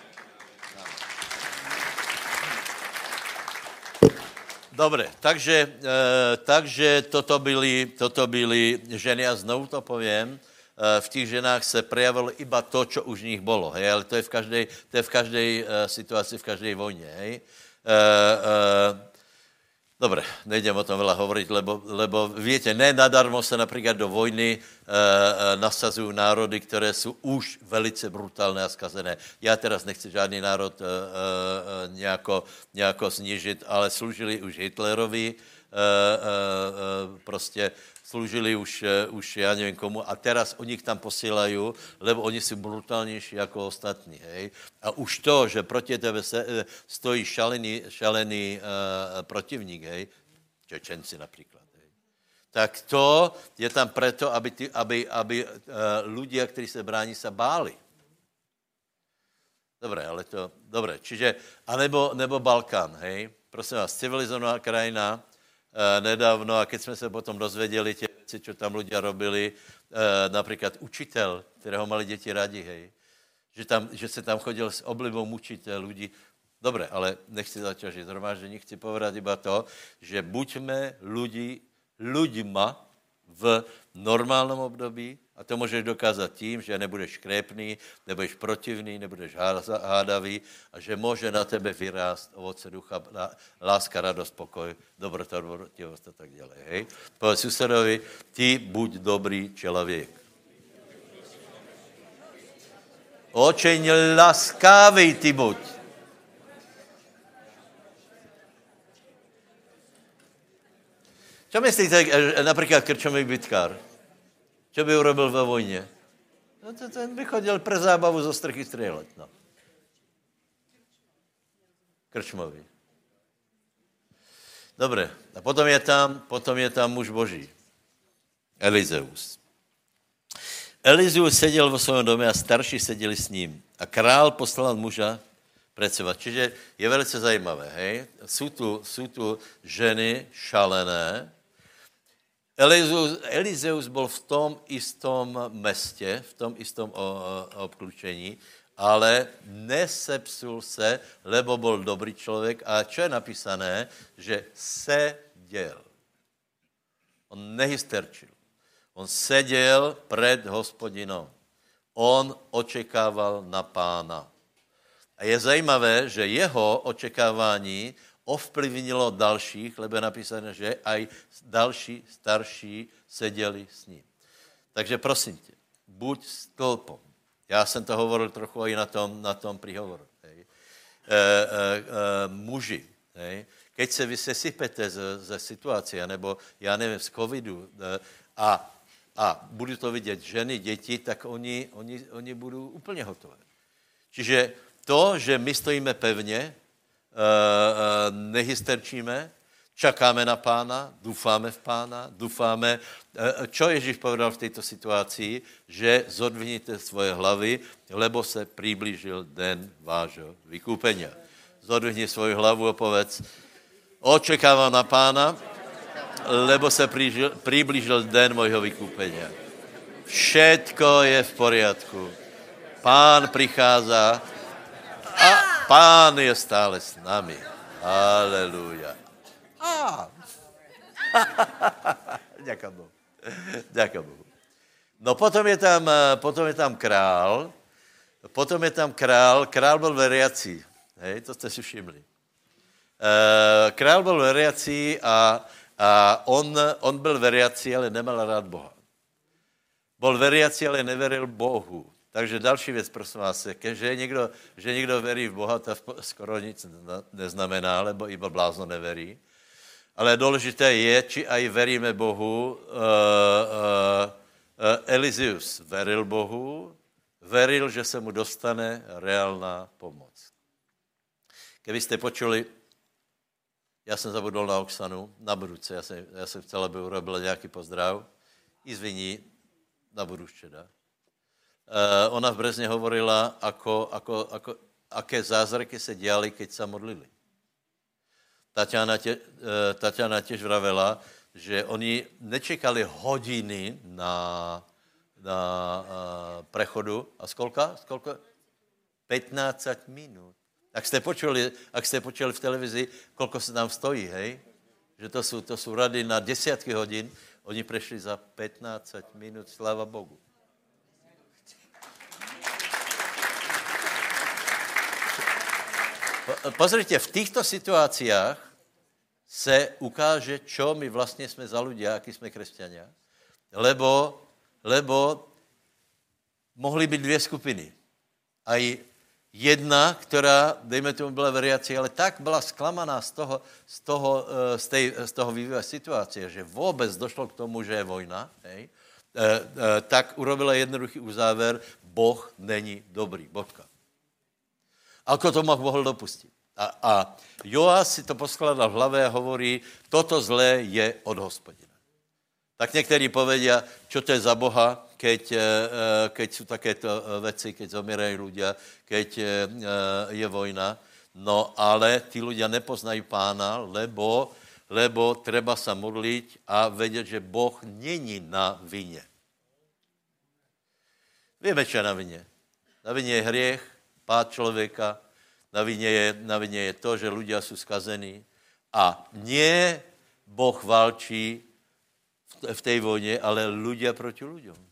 [SPEAKER 1] Dobre, takže, e, takže toto, byly, toto byly ženy a znovu to poviem, e, v těch ženách se prejavilo iba to, čo už v nich bolo, hej, ale to je v každej, to je v každej e, situaci, v každej vojně, hej. E, e, Dobre, nejdem o tom veľa hovoriť, lebo, lebo viete, ne nadarmo sa napríklad do vojny e, e, nasazujú národy, ktoré sú už velice brutálne a skazené. Ja teraz nechci žádný národ e, e, nejako, nejako snížiť, ale slúžili už Hitlerovi, e, e, prostě slúžili už, už ja neviem komu a teraz oni ich tam posílajú, lebo oni sú brutálnejší ako ostatní, hej. A už to, že proti tebe se, stojí šalený, šalený uh, protivník, hej, Čečenci napríklad, hej. Tak to je tam preto, aby, ty, aby, aby uh, ľudia, ktorí sa bráni, sa báli. Dobre, ale to, dobre, čiže, anebo nebo Balkán, hej. Prosím vás, civilizovaná krajina, Uh, nedávno, a keď jsme se potom dozvěděli tě věci, čo tam ľudia robili, uh, například učitel, kterého mali děti rádi, hej, že, tam, že se tam chodil s oblibou mučitel ľudí. Dobre, ale nechci zaťažiť zhromaždení, chci povedať iba to, že buďme ľudí, ľuďma v normálnom období, a to můžeš dokázat tím, že nebudeš škrépný, nebudeš protivný, nebudeš hádavý a že může na tebe vyrást ovoce ducha, láska, radost, pokoj, dobrota, dobrotivost a tak dále. Hej? Povedz susedovi, ty buď dobrý člověk. Očeň laskavý ty buď. Čo myslíte, například krčový bitkár? Čo by urobil ve vojně? No to ten by chodil pre zábavu zo strchy strieľať, no. Krčmový. Dobre, a potom je tam, potom je tam muž Boží. Elizeus. Elizeus seděl vo svém domě a starší seděli s ním. A král poslal muža pred seba. Čiže je velice zajímavé, hej? Sú tu, sú tu ženy šalené. Elizeus, Elizeus bol v tom istom meste, v tom istom obklúčení, ale nesepsul se, lebo bol dobrý člověk. A čo je napísané? Že seděl. On nehysterčil. On seděl před Hospodinom. On očekával na Pána. A je zajímavé, že jeho očekávání ovplyvnilo dalších, lebo je napísané, že aj další starší seděli s ním. Takže prosím tě, buď stĺpom. Já jsem to hovoril trochu i na tom, na tom príhovoru. Hej. E, e, e, muži, hej. Keď se vy sesypete ze, ze situace, nebo já nevím, z covidu e, a a budú to vidieť ženy, deti, tak oni, oni, oni budú úplne hotové. Čiže to, že my stojíme pevne, nehysterčíme, čakáme na Pána, dúfame v Pána, dúfame. Čo Ježíš povedal v tejto situácii? Že zodvihnite svoje hlavy, lebo se priblížil den vášho vykúpenia. Zodvihni svoju hlavu a povedz, očekávam na Pána, lebo se priblížil den môjho vykúpenia. Všetko je v poriadku. Pán prichádza a Pán je stále s nami. Halelúja. Á. Ďakujem Bohu. Ďakujem Bohu. No potom je tam, potom je tam král. Potom je tam král. Král byl veriací. Hej, to ste si všimli. E, král byl veriací a, a on, on byl veriací, ale nemal rád Boha. Bol veriací, ale neveril Bohu. Takže další věc, prosím vás, že někdo, že někdo verí v Boha, to skoro nic neznamená, lebo iba blázno neverí. Ale důležité je, či aj veríme Bohu. Uh, uh, uh, Elizeus veril Bohu, veril, že se mu dostane reálná pomoc. Keby ste počuli, ja som zabudol na Oksanu, na budúce, ja som, ja som chcel, aby urobila nejaký pozdrav, izviní, na budúce, dá. Uh, ona v Brezne hovorila, ako, ako, ako, aké zázraky se diali, keď sa modlili. Tatiana, te, uh, Tatiana tiež vravela, že oni nečekali hodiny na, na uh, prechodu. A skolka? Skolka? pätnásť minút. Ak ste počuli, ak ste počuli v televízii, koľko sa tam stojí, hej? Že to sú, to sú rady na desiatky hodín, oni prešli za pätnásť minút, sláva Bohu. Pozrite, v týchto situáciách se ukáže, čo my vlastne sme za ľudia, akí sme kresťania. Lebo, lebo mohli byť dvě skupiny. Aj jedna, která, dejme tomu, byla veriaci, ale tak byla zklamaná z toho, z toho, z tej, z toho vývoja situácie, že vůbec došlo k tomu, že je vojna, hej, e, e, tak urobila jednoduchý uzáver, Boh není dobrý, bodka. Ako to mohl dopustit? A, a Joáš si to poskladal v hlave a hovorí, toto zlé je od Hospodina. Tak někteří povedia, čo to je za Boha, keď, keď sú takéto veci, keď zomierajú ľudia, keď je vojna. No ale tí ľudia nepoznajú Pána, lebo, lebo treba sa modliť a vedieť, že Boh není na vine. Vieme, čo je na vine. Na vine je hriech, pád človeka, na vine je, na vine je to, že ľudia sú skazení a nie Boh válčí v tej vojne, ale ľudia proti ľuďom.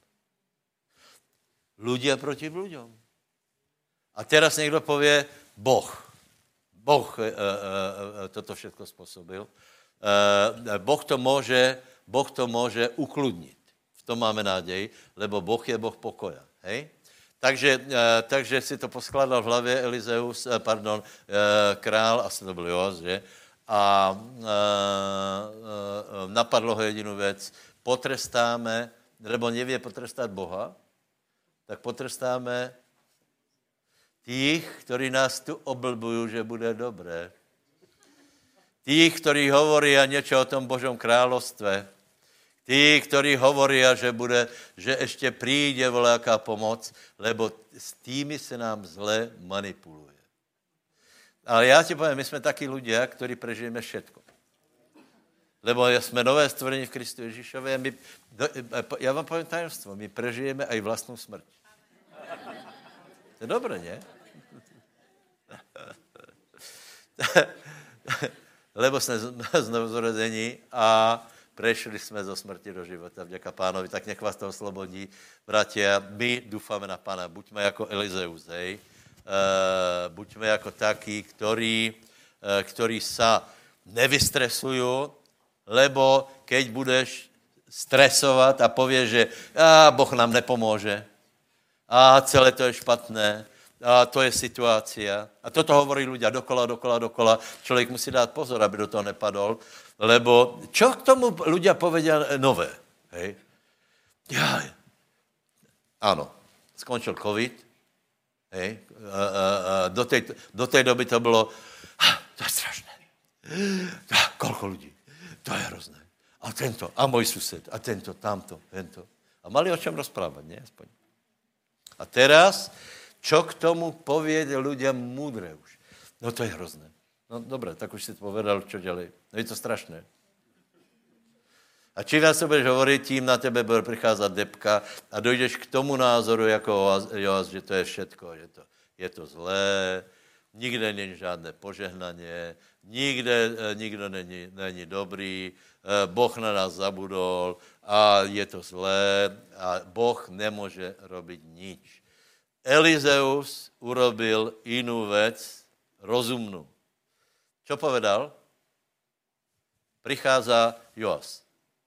[SPEAKER 1] Ľudia proti ľuďom. A teraz niekto povie, Boh. Boh e, e, e, toto všetko spôsobil. E, boh, to môže, boh to môže ukludniť. V tom máme nádej, lebo Boh je Boh pokoja. Hej? Takže, e, takže si to poskladal v hlavě Elizeus, e, pardon, e, král, asi to byl Joáš, že? A e, e, napadlo ho jedinú vec. Potrestáme, lebo nevie potrestať Boha, tak potrestáme tých, ktorí nás tu oblbujú, že bude dobré. Tých, ktorí hovoria niečo o tom Božom kráľovstve. Tí, ktorí hovoria, že, bude, že ešte príde voľaká pomoc, lebo s tými sa nám zle manipuluje. Ale ja ti poviem, my sme takí ľudia, ktorí prežijeme všetko. Lebo sme nové stvorenie v Kristu Ježišove. My, ja vám poviem tajemstvo, my prežijeme aj vlastnú smrť. To je dobré, nie? Lebo sme znovuzrodení a prešli sme zo smrti do života. Vďaka Pánovi, tak nech vás to oslobodí. Bratia, my dúfame na Pána. Buďme ako Elizeus, hej? Uh, buďme ako takí, ktorí, uh, ktorí sa nevystresujú, lebo keď budeš stresovať a povieš, že á, Boh nám nepomôže, a celé to je špatné, a to je situácia. A toto hovorí ľudia dokola, dokola, dokola. Človek musí dát pozor, aby do toho nepadol, lebo čo k tomu ľudia povedia nové? Hej? Jaj. Áno, skončil covid, hej, a, a, a do, tej, do tej doby to bylo, to je strašné. A, koľko ľudí, to je hrozné. A tento, a môj sused, a tento, tamto, tento. A mali o čom rozprávať, nie? Aspoň. A teraz, čo k tomu povie ľudia múdre už? No to je hrozné. No dobre, tak už si to povedal, čo ďalej. No je to strašné. A čím viac to budeš hovoriť, tím na tebe bude pricházať depka a dojdeš k tomu názoru, jako Joas, že to je všetko, že to, je to zlé, nikde není žádné požehnanie, nikde nikdo není, není dobrý, Boh na nás zabudol a je to zlé a Boh nemôže robiť nič. Elizeus urobil inú vec, rozumnú. Čo povedal? Prichádza Joas.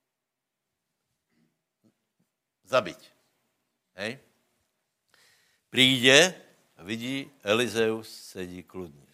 [SPEAKER 1] Zabiť. Hej? Príde a vidí, Elizeus sedí kľudne.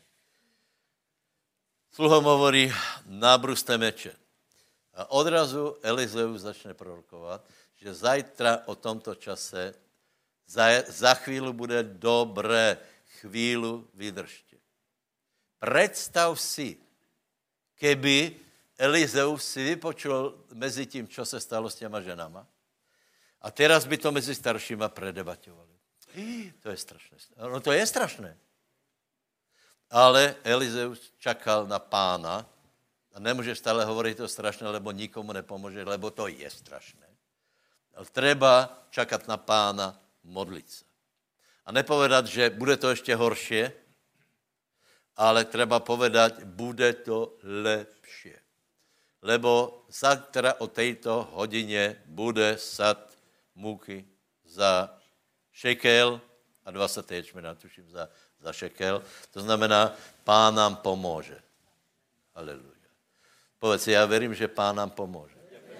[SPEAKER 1] Sluhom hovorí, nábruste meče. A odrazu Elizeus začne prorokovať, že zajtra o tomto čase za, za chvíľu bude dobré, chvíľu vydržte. Predstav si, keby Elizeus si vypočul mezi tím, čo se stalo s těma ženama, a teraz by to mezi staršíma predebaťovali. To je strašné. No to je strašné. Ale Elizeus čakal na pána a nemôže stále hovoriť to strašné, lebo nikomu nepomôže, lebo to je strašné. Ale treba čakať na pána, modliť sa. A nepovedať, že bude to ešte horšie, ale treba povedať, bude to lepšie. Lebo zajtra o tejto hodine bude sad múky za šekel a dvacet ječmena, tuším, za, za šekel. To znamená, pán nám pomôže. Aleluja. Povedz si, ja verím, že pán nám pomôže.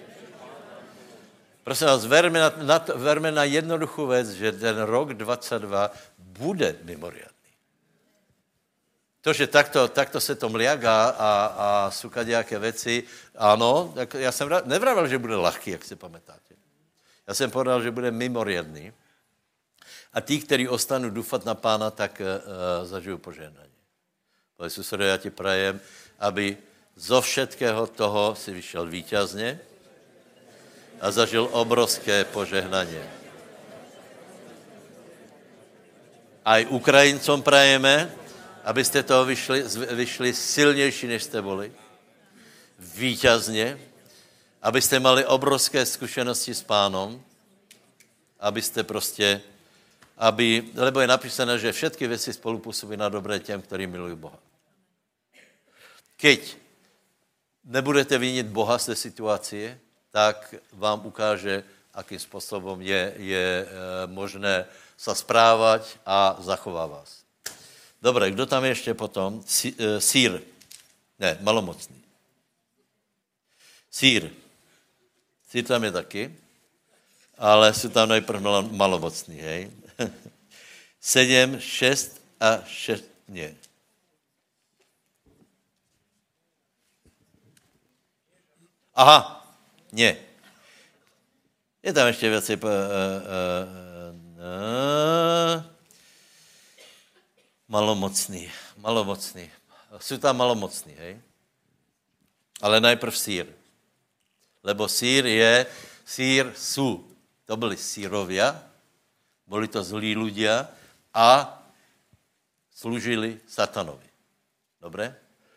[SPEAKER 1] Prosím vás, verme na, na, to, verme na jednoduchú vec, že ten rok dvadsaťdva bude mimoriadný. To, že takto, takto se to mliaga a, a sú kadejaké veci, áno, ja som nevravel, že bude ľahký, jak si pamätáte. Ja som povedal, že bude mimoriadný. A tí, ktorí ostanú dúfať na pána, tak uh, zažijú požehnanie. Povedz, susedo, ja ti prajem, aby zo všetkého toho si vyšiel víťazne a zažil obrovské požehnanie. Aj Ukrajincom prajeme, aby ste toho vyšli, vyšli silnejší, než ste boli. Víťazne. Aby ste mali obrovské skúsenosti s pánom. Aby ste proste, aby, lebo je napísané, že všetky veci spolupôsobí na dobré těm, ktorí milujú Boha. Keď nebudete viniť Boha z té situácie, tak vám ukáže, akým spôsobom je, je e, možné sa správať a zachová vás. Dobre, kdo tam je ešte potom? Sí, e, sír. Ne, malomocný. Sír. Sír tam je taky, ale sú tam najprv malomocní, hej? sedem, šest a šest, nie. Aha, nie. Je tam ešte viacej... Uh, uh, uh, malomocný, malomocný. Sú tam malomocní, hej? Ale najprv sír. Lebo sír je, sír sú. To byli sírovia, boli to zlí ľudia a slúžili satanovi. Dobre?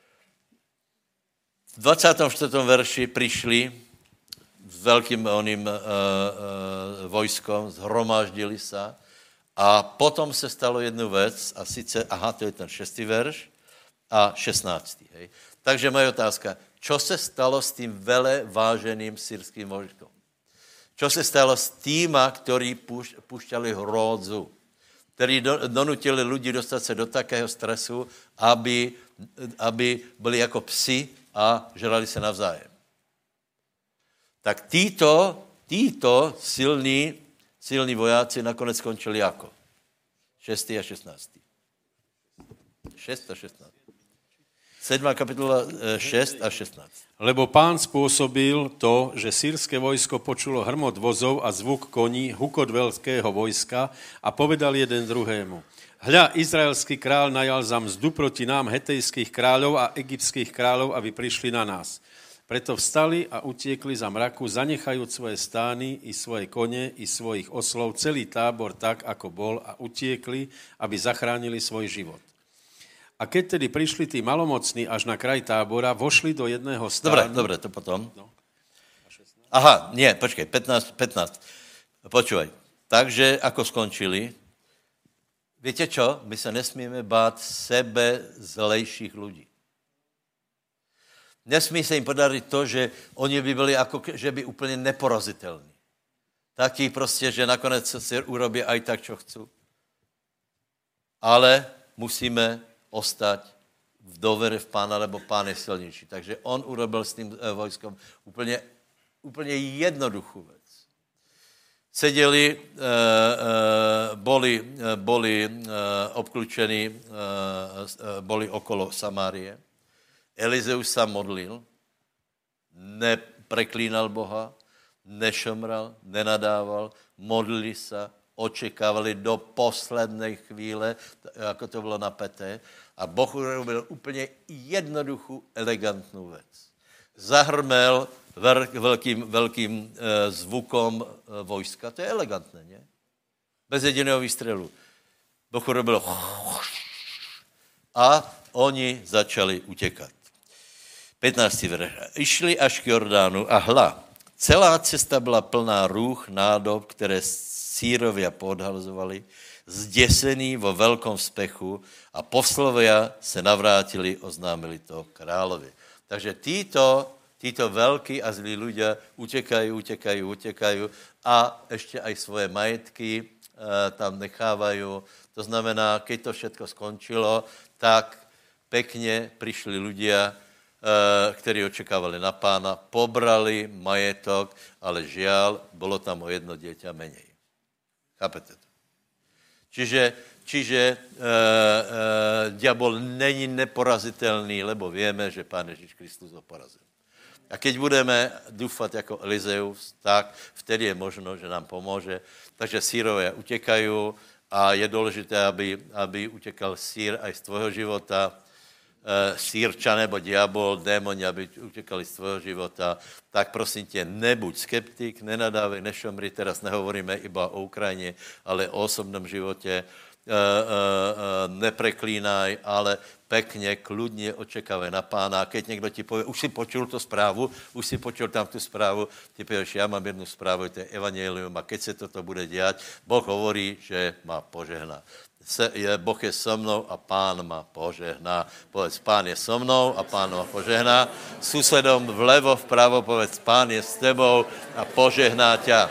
[SPEAKER 1] V dvadsiatom štvrtom verši prišli s veľkým oným uh, uh, vojskom, zhromaždili sa a potom se stalo jednu vec a sice, aha, to je ten šestý verš a šestnáctý. Hej. Takže moja otázka, čo se stalo s tým vele váženým syrským vojskom? Čo se stalo s týma, ktorí púšťali hródzu, ktorí donutili ľudí dostať sa do takého stresu, aby, aby byli ako psi a žrali sa navzájem. Tak títo, títo silní, silní vojáci nakonec skončili ako? šestý a šestnáctý. šesť a šestnáct. sedmá kapitola šesť a šestnásť.
[SPEAKER 3] Lebo Pán spôsobil to, že sýrske vojsko počulo hrmot vozov a zvuk koní, hukot veľkého vojska a povedal jeden druhému: Hľa, izraelský král najal za mzdu proti nám hetejských kráľov a egyptských kráľov, aby prišli na nás. Preto vstali a utiekli za mraku, zanechajúc svoje stány i svoje kone i svojich oslov, celý tábor tak, ako bol, a utiekli, aby zachránili svoj život. A keď tedy prišli tí malomocní až na kraj tábora, vošli do jedného stánu...
[SPEAKER 1] Dobre, dobre, to potom. No. Aha, nie, počkej, pätnásť, pätnásť. Počúvaj. Takže, ako skončili, viete čo? My sa nesmieme báť sebe zlejších ľudí. Nesmí sa im podariť to, že oni by byli ako, že by úplne neporaziteľní. Takí proste, že nakonec si urobia aj tak, čo chcú. Ale musíme ostať v dôvere v Pána, lebo Pán je silnejší. Takže on urobil s tým vojskom úplne, úplne jednoduchú vec. Sedeli, e, e, boli, boli e, obklúčení, e, boli okolo Samárie. Elizeus sa modlil, nepreklínal Boha, nešomral, nenadával, modlili sa, očekávali do poslednej chvíle, ako to bylo napäté. A Boh urobil úplně jednoduchou, elegantnou věc. Zahrmel velkým, velkým e, zvukom e, vojska. To je elegantné, ne? Bez jediného výstřelu. Boh urobil a oni začali utěkat. pätnáctý verš. Išli až k Jordánu a hla, celá cesta byla plná růch, nádob, které Sýrovia podhalzovali, zděsení vo velkom spechu a poslovia se navrátili, oznámili to královi. Takže títo, títo veľkí a zlí ľudia utekajú, utekajú, utekajú a ešte aj svoje majetky e, tam nechávajú. To znamená, keď to všetko skončilo, tak pekne prišli ľudia, e, ktorí očekávali na Pána, pobrali majetok, ale žiaľ, bolo tam o jedno dieťa menej. Chápete to? Čiže, čiže e, e, diabol není neporazitelný, lebo vieme, že Pán Ježíš Kristus ho porazil. A keď budeme dúfať ako Elizeus, tak vtedy je možno, že nám pomôže. Takže Sýrovia utekajú a je dôležité, aby, aby utekal Sýr aj z tvojho života. E, Sýrča nebo diabol, démoni, aby utekali z tvojho života. Tak prosím tě, nebuď skeptik, nenadávej, nešomri, teraz nehovoríme iba o Ukrajine, ale o osobnom živote. E, e, e, nepreklínaj, ale pekne, kľudne očekávaj na Pána. Keď niekto ti povie, už si počul tú správu, už si počul tam tú správu, ty povieš, ja mám jednu správu, to je evanjelium a keď sa toto bude diať, Boh hovorí, že ma požehná. Je, boh je so mnou a Pán ma požehná. Povedz, Pán je so mnou a Pán ma požehná. Susedom vlevo, vpravo povedz, Pán je s tebou a požehná ťa.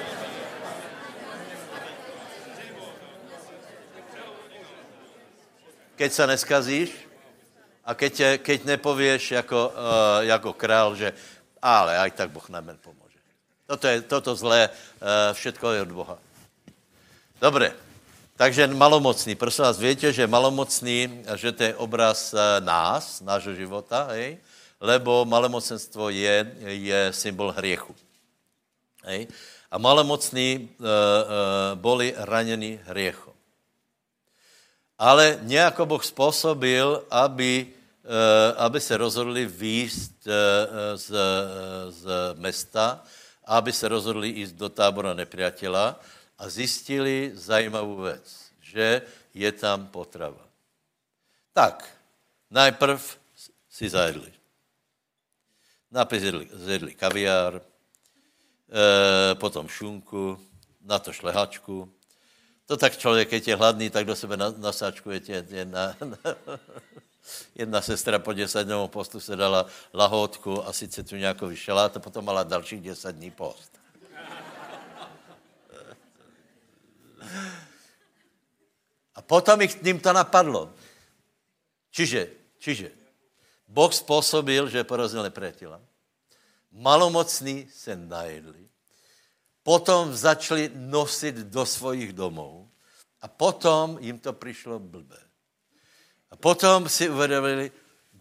[SPEAKER 1] Keď sa neskazíš a keď, keď nepovieš ako, uh, ako král, že ale aj tak Boh nám pomôže. Toto, je, toto zlé, uh, všetko je od Boha. Dobre. Takže malomocný, prosím vás, viete, že malomocný, že to je obraz nás, nášho života, hej? Lebo malomocenstvo je, je symbol hriechu. Hej? A malomocní e, e, boli ranení hriechom. Ale nejako Boh spôsobil, aby, e, aby sa rozhodli výjsť e, z, z mesta, aby sa rozhodli ísť do tábora nepriateľa, a zistili zajímavou vec, že je tam potrava. Tak, najprv si zajedli. Najprv zjedli, zjedli kaviár, e, potom šunku, na to šlehačku. To tak človek, keď je hladný, tak do sebe nasáčkujete. Jedna, jedna sestra po desaťdňovom postu se dala lahôdku a sice tu nejakový šalát a potom mala dalších desať dní post. A potom ich ním to napadlo. Čiže, čiže, Boh spôsobil, že porazil nepriateľa. Malomocní se najedli. Potom začali nosiť do svojich domov. A potom jim to prišlo blbé. A potom si uvedomili,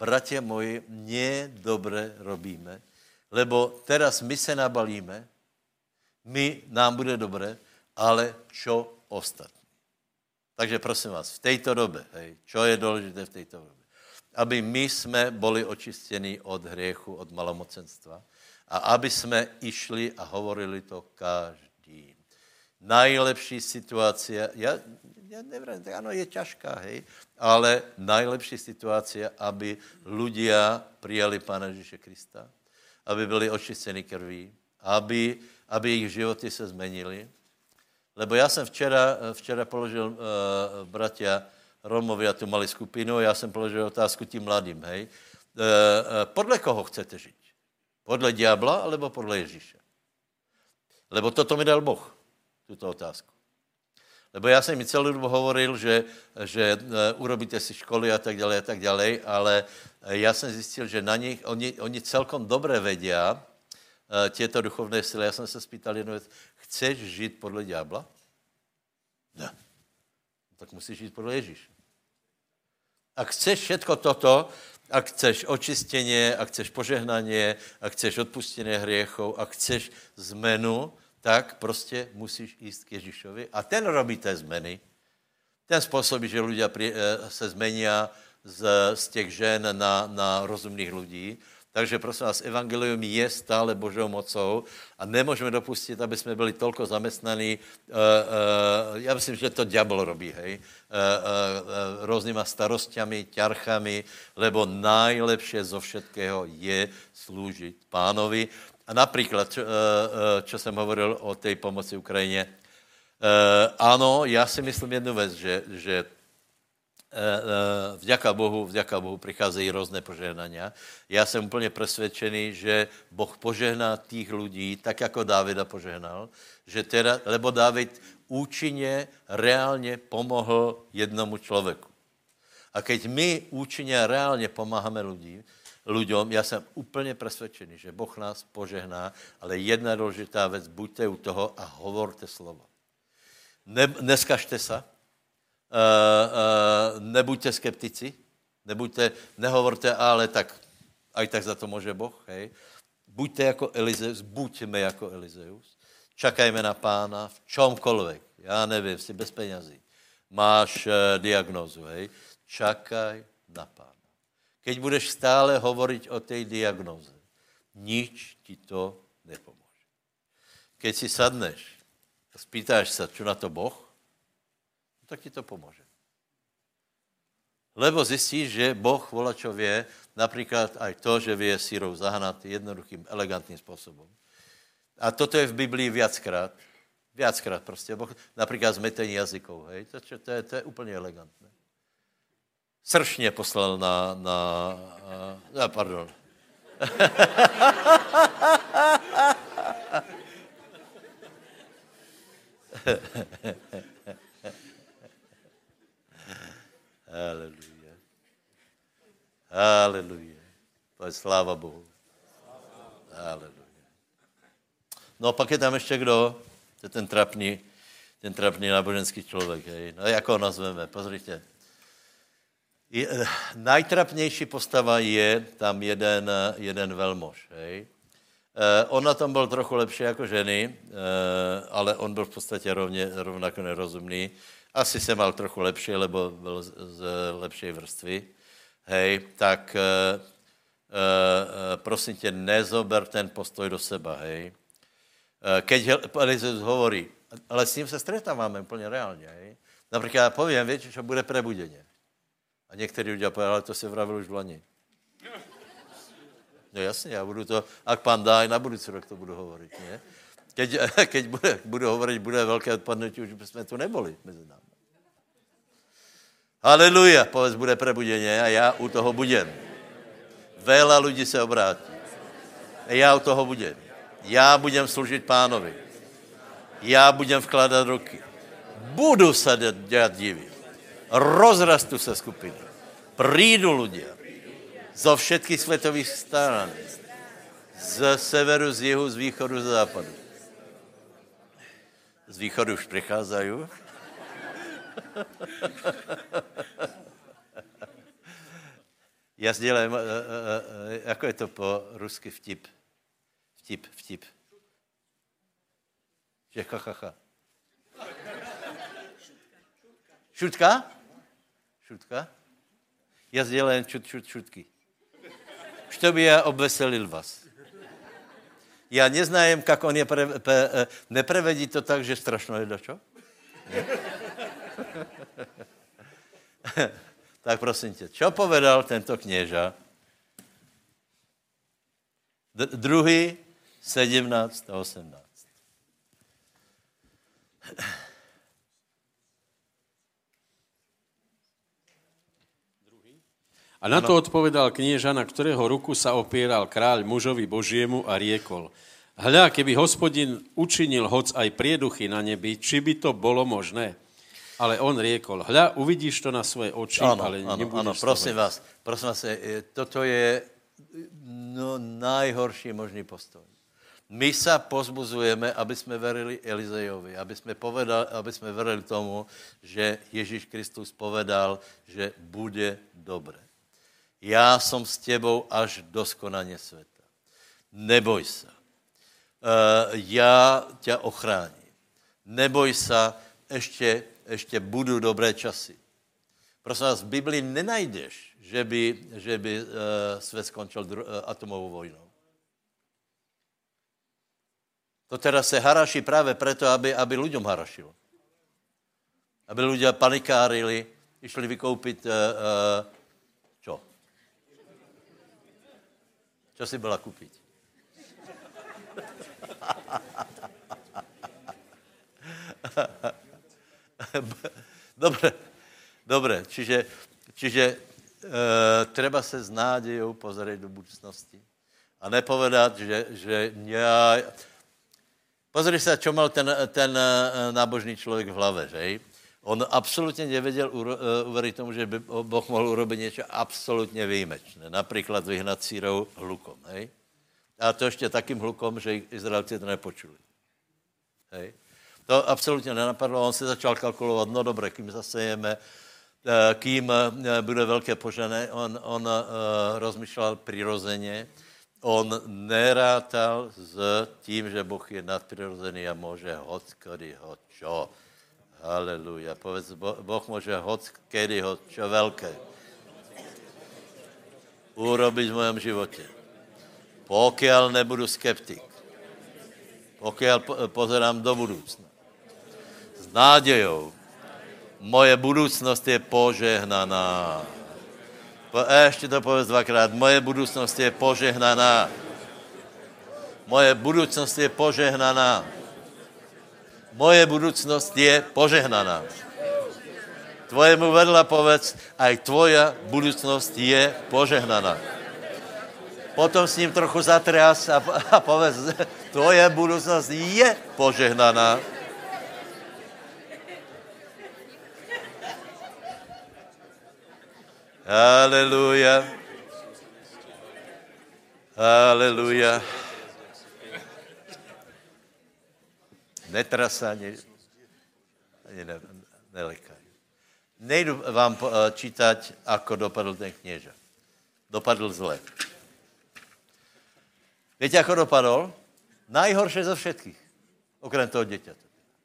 [SPEAKER 1] bratia moji, nie dobre robíme, lebo teraz my se nabalíme, my, nám bude dobre, ale čo ostatní. Takže prosím vás, v tejto dobe, hej, čo je dôležité v tejto dobe? Aby my sme boli očistení od hriechu, od malomocenstva a aby sme išli a hovorili to každý. Najlepší situácia, ja, ja neviem, áno, je ťažká, hej, ale najlepší situácia, aby ľudia prijali Pána Ježíše Krista, aby byli očistení krví, aby, aby ich životy sa zmenili. Lebo ja som včera, včera položil, uh, bratia Romovia tu mali skupinu, ja som položil otázku tým mladým, hej. Uh, uh, podle koho chcete žiť? Podle diabla, alebo podle Ježíša? Lebo toto mi dal Boh. Túto otázku. Lebo ja som mi celú dobu hovoril, že, že urobíte si školy a tak ďalej a tak ďalej, ale ja som zistil, že na nich, oni, oni celkom dobre vedia tieto duchovné sily. Ja som sa spýtal jednu vec, chceš žiť podle diabla? Ne. Tak musíš žiť podle Ježíša. Ak chceš všetko toto, ak chceš očistenie, ak chceš požehnanie, ak chceš odpustenie hriechov, ak chceš zmenu, tak prostě musíš ísť k Ježíšovi. A ten robí té zmeny. Ten spôsobí, že ľudia pri, se zmenia z, z těch žen na, na rozumných ľudí. Takže prosím vás, evangelium je stále Božou mocou a nemôžeme dopustit, aby jsme byli tolko zamestnaní. Uh, uh, já myslím, že to diabol robí, hej. Uh, uh, uh, různýma starostiami, ťarchami, lebo najlepšie zo všetkého je slúžiť Pánovi. A napríklad, čo, čo som hovoril o tej pomoci Ukrajine, áno, ja si myslím jednu vec, že, že vďaka Bohu, vďaka Bohu prichádzajú rôzne požehnania. Ja som úplne presvedčený, že Boh požehná tých ľudí, tak ako Dávida požehnal, že teda, lebo Dávid účinne, reálne pomohol jednomu človeku. A keď my účinne a reálne pomáhame ľudí, ľuďom, ja som úplne presvedčený, že Boh nás požehná, ale jedna dôležitá vec, buďte u toho a hovorte slovo. Ne, neskažte sa, uh, uh, nebuďte skeptici, nebuďte, nehovorte, ale tak, aj tak za to môže Boh, hej. Buďte ako Elizeus, buďme ako Elizeus, čakajme na Pána v čomkoľvek, ja neviem, si bez peňazí, máš uh, diagnózu, hej, čakaj na Pána. Keď budeš stále hovoriť o tej diagnóze, nič ti to nepomôže. Keď si sadneš a spýtáš sa, čo na to Boh, tak ti to pomôže. Lebo zistíš, že Boh volá, čo vie, napríklad aj to, že vie sírov zahnať jednoduchým, elegantným spôsobom. A toto je v Biblii viackrát. Viackrát proste. Boh, napríklad zmetení jazykov, hej, to, čo, to, je, to je úplne elegantné. Sršně poslal na, na, na pardon. Haleluja. Haleluja. To je sláva Bohu. Haleluja. No a pak je tam ještě kdo? To je ten trapný, ten trapný náboženský člověk, hej. No jak ho nazveme? Pozrite. Je, najtrapnější postava je tam jeden, jeden velmož. Hej. E, on na tom byl trochu lepší jako ženy, e, ale on byl v podstatě rovně, rovnako nerozumný. Asi se mal trochu lepší, lebo byl z, z lepšej vrstvy. Hej, tak e, e, prosím tě, nezober ten postoj do seba. Hej. E, keď Elizeus hovorí, ale s ním se stretáváme úplně reálně. Hej. Například já povím, viete, čo bude prebudeně. A některý ľudia povedali, ale to si vravil už v lani. No jasně, já budu to, ak pán dá, i na budúci rok to budu hovoriť, nie? Keď, keď bude, budu hovoriť, bude velké odpadnutí, už jsme tu neboli mezi námi. Haleluja, povedz, bude prebudeně a já u toho budem. Veľa ľudí se obrátí. A já u toho budem. Já budem služit pánovi. Já budem vkládat ruky. Budu se dělat divy. Rozrastu se skupiny. Prídu ľudia zo všetkých svetových stran. Z severu, z jihu, z východu, z západu. Z východu už prichádzajú. Já sdělám, jako je to po rusky vtip? Vtip, vtip. Že ha, ha, ha. Šutka? Šutka? Já sdělám šut, šut, šutky. Чтобы я obveselil vás. Já neznám, jak on je, pre, pre, neprevedí to tak, že strašno je dačo? Tak prosím tě, čo povedal tento kněža? D- druhý, sedmnáct a osmnáct.
[SPEAKER 3] A na to odpovedal knieža, na ktorého ruku sa opieral kráľ mužovi Božiemu a riekol: Hľa, keby Hospodin učinil hoc aj prieduchy na nebi, či by to bolo možné? Ale on riekol: Hľa, uvidíš to na svoje oči,
[SPEAKER 1] ano,
[SPEAKER 3] ale
[SPEAKER 1] ano,
[SPEAKER 3] nebudeš
[SPEAKER 1] ano, prosím vás, prosím vás, toto je no, najhorší možný postoj. My sa pozbuzujeme, aby sme verili Elizejovi, aby sme, povedali, aby sme verili tomu, že Ježíš Kristus povedal, že bude dobre. Já som s tebou až do skonania sveta. Neboj sa. Uh, já ťa ochráním. Neboj sa, ešte, ešte budú dobré časy. Prosím vás, v Biblii nenajdeš, že by, že by uh, svet skončil dru- uh, atomovou vojnou. To teraz se haraší práve preto, aby, aby ľuďom harašilo. Aby ľudia panikárili, išli vykoupiť uh, uh, čo? Čo si byla kúpiť? Dobre, dobre, čiže, čiže e, treba sa s nádejou pozrieť do budúcnosti a nepovedať, že, že ja... Pozri sa, čo mal ten, ten nábožný človek v hlave, že? On absolútne nevedel uveriť tomu, že by Boh mohol urobiť niečo absolútne výjimečné. Napríklad vyhnať sírov hlukom, hej? A to ešte takým hlukom, že Izraelci to nepočuli. Hej? To absolútne nenapadlo. On si začal kalkulovať, no dobre, kým zasejeme, kým bude veľké požené. On, on uh, rozmýšľal prirodzene. On nerátal s tím, že Boh je nadprirozený a môže hoď, kedy ho čo. Halelúja. Povedz, Boh môže hoď, kedy ho čo veľké urobiť v mojom živote. Pokiaľ nebudu skeptik. Pokiaľ pozerám do budúcna. S nádejou. Moje budúcnosť je požehnaná. Ešte to povedz dvakrát. Moje budúcnosť je požehnaná. Moje budúcnosť je požehnaná. Moje budúcnosť je požehnaná. Tvojemu vedľa povedz, aj tvoja budúcnosť je požehnaná. Potom s ním trochu zatrias a, a povedz, tvoja budúcnosť je požehnaná. Halelúja. Halelúja. Netras sa, ani, ani ne, nelekaj. Nejdu vám čítať, ako dopadl ten knieža. Dopadl zle. Viete, ako dopadol? Najhoršie zo všetkých. Okrem toho deťata.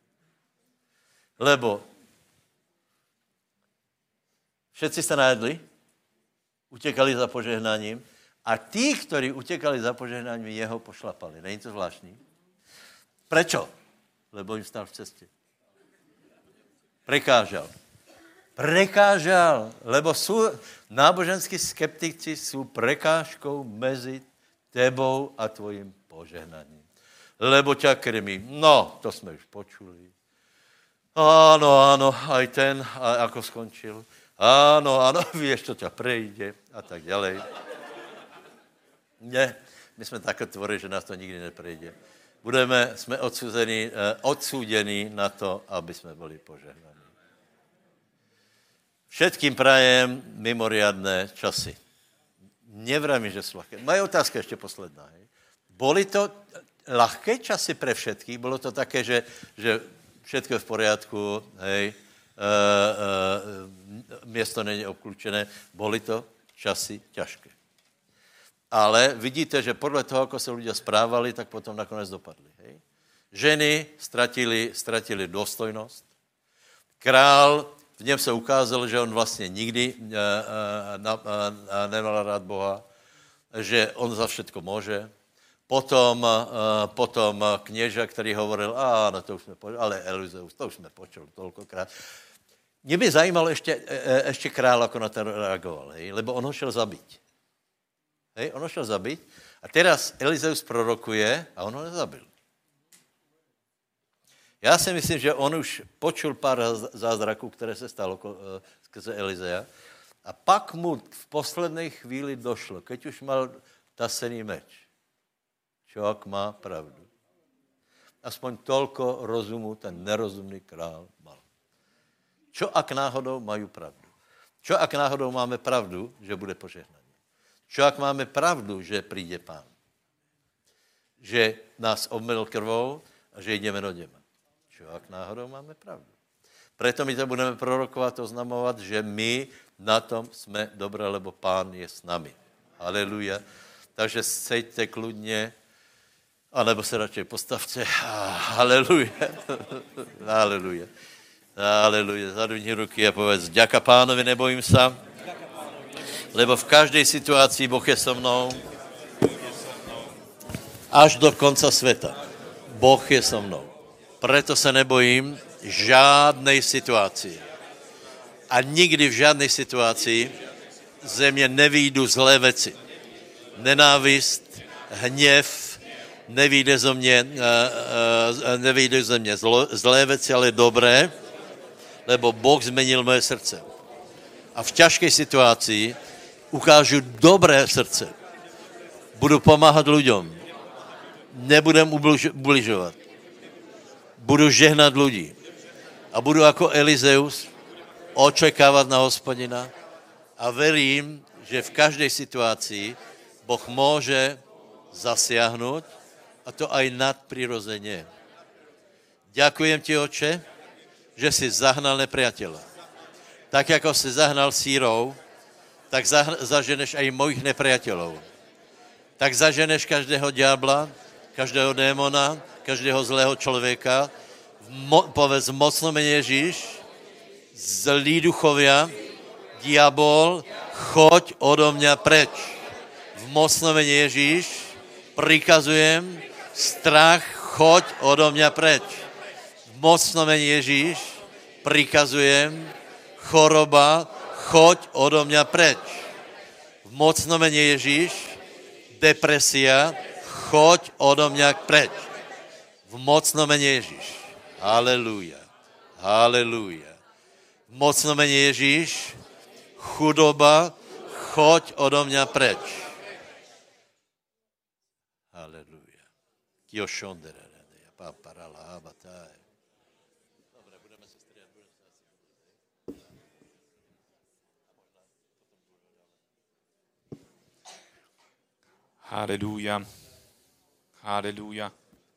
[SPEAKER 1] Lebo všetci sa najedli, utekali za požehnaním a tí, ktorí utekali za požehnaním, jeho pošlapali. Není to zvláštní? Prečo? Lebo im stál v ceste. Prekážal. Prekážal, lebo sú, náboženskí skeptici sú prekážkou mezi tebou a tvojim požehnaním. Lebo ťa krmí. No, to sme už počuli. Áno, áno, aj ten, a ako skončil. Áno, áno, vieš, čo ťa prejde a tak ďalej. Nie, my sme také tvorí, že nás to nikdy neprejde. Budeme, sme odsúdení, odsúdení na to, aby sme boli požehnaní. Všetkým prajem mimoriadné časy. Nevrajme, že sú ľahké. Moja otázka ešte posledná. Hej. Boli to ľahké časy pre všetkých? Bolo to také, že, že všetko je v poriadku, hej, e, e, miesto nie je obklúčené. Boli to časy ťažké. Ale vidíte, že podle toho, ako sa ľudia správali, tak potom nakonec dopadli. Hej? Ženy stratili, stratili dôstojnosť. Král, v něm se ukázalo, že on vlastně nikdy uh, uh, uh, nemal rád Boha, že on za všetko môže. Potom, uh, potom knieža, který hovoril, áno, to už jsme počuli, ale Elizeus, to už jsme počuli toľkokrát. Mě by zajímalo ještě, ještě král, ako na to reagoval, hej? Lebo on ho šel zabiť. Hej? On ho šel zabiť a teraz Elizeus prorokuje a on ho nezabil. Já si myslím, že on už počul pár zázraků, které se stalo skrze Elizea a pak mu v poslednej chvíli došlo, keď už mal tasený meč. Človek má pravdu. Aspoň toľko rozumu ten nerozumný král mal. Čo ak náhodou majú pravdu? Čo ak náhodou máme pravdu, že bude požehnaný? Čo ak máme pravdu, že príde Pán? Že nás obmyl krvou a že ideme do neba? Čo ak náhodou máme pravdu? Preto my to budeme prorokovať, oznamovať, že my na tom sme dobré, lebo Pán je s nami. Haleluja. Takže sejte kľudne, alebo se radšej postavte. Haleluja. Haleluja. Haleluja. Zadvihni ruky a povedz, ďaká Pánovi, nebojím sa, lebo v každej situácii Boh je so mnou. Až do konca sveta. Boh je so mnou. Preto sa nebojím žádnej situácii. A nikdy v žádnej situácii ze mne nevyjdu zlé veci. Nenávist, hněv, nevyjde zo mne, uh, uh, nevyjde zo mne zlo, zlé veci, ale dobré, lebo Boh zmenil moje srdce. A v ťažkej situácii ukážu dobré srdce. Budu pomáhat ľuďom. Nebudem ubližovat. Budu žehnat ľudí. A budu jako Elizeus očekávat na Hospodina a verím, že v každej situácii Boh môže zasiahnuť a to aj nadprirodzene. Ďakujem ti, Oče, že si zahnal nepriateľa. Tak, ako si zahnal sírov, tak zaženeš aj mojich nepriateľov. Tak zaženeš každého diabla, každého démona, každého zlého človeka. Mo, povedz mocno mene Ježíš, zlí duchovia, diabol, choď odo mňa preč. V mocno mene Ježíš prikazujem, strach, choď odo mňa preč. V mocno mene Ježíš prikazujem, choroba, choď odo mňa preč. V mocno mene Ježíš, depresia, choď odo mňa preč. V mocno mene Ježíš. Halelúja. Halelúja. V mocno mene Ježíš, chudoba, choď odo mňa preč. Halelúja. Kio šondere, ja paparala, abataj. Dobre, budeme sa striať.
[SPEAKER 2] Halelúja. Halelúja.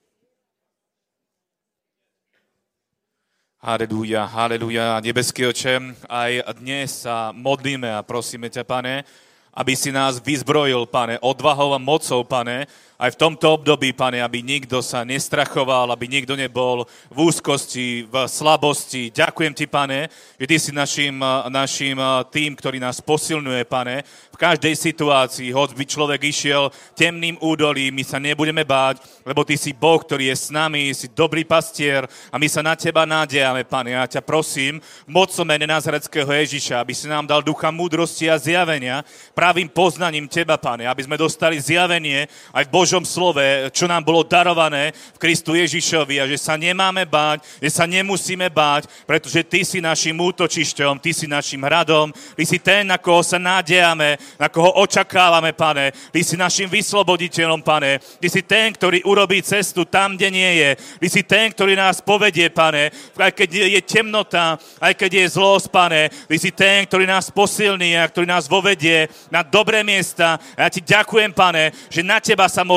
[SPEAKER 2] Halelúja, halelúja. Nebeský Oče, aj dnes sa modlíme a prosíme ťa, Pane, aby si nás vyzbrojil, Pane, odvahou a mocou, Pane, aj v tomto období, Pane, aby nikto sa nestrachoval, aby nikto nebol v úzkosti, v slabosti. Ďakujem Ti, Pane, že Ty si našim, našim tým, ktorý nás posilňuje, Pane, v každej situácii, hoď by človek išiel temným údolím, my sa nebudeme báť, lebo Ty si Boh, ktorý je s nami, si dobrý pastier a my sa na Teba nádejame, Pane. Ja ťa prosím, v mocnom mene Nazaretského Ježiša, aby si nám dal ducha múdrosti a zjavenia, pravým poznaním Teba, Pane, aby sme dostali zjavenie aj v Božom slove, čo nám bolo darované v Kristu Ježišovi a že sa nemáme báť, že sa nemusíme báť, pretože Ty si našim útočišťom, Ty si našim hradom, Ty si ten, na koho sa nádejame, na koho očakávame, Pane. Ty si našim vysloboditeľom, Pane. Ty si ten, ktorý urobí cestu tam, kde nie je. Ty si ten, ktorý nás povedie, Pane. Aj keď je temnota, aj keď je zlosť, Pane. Ty si ten, ktorý nás posilní a ktorý nás vovedie na dobré miesta. A ja Ti ďakujem, Pane, že na Teba sa môžeme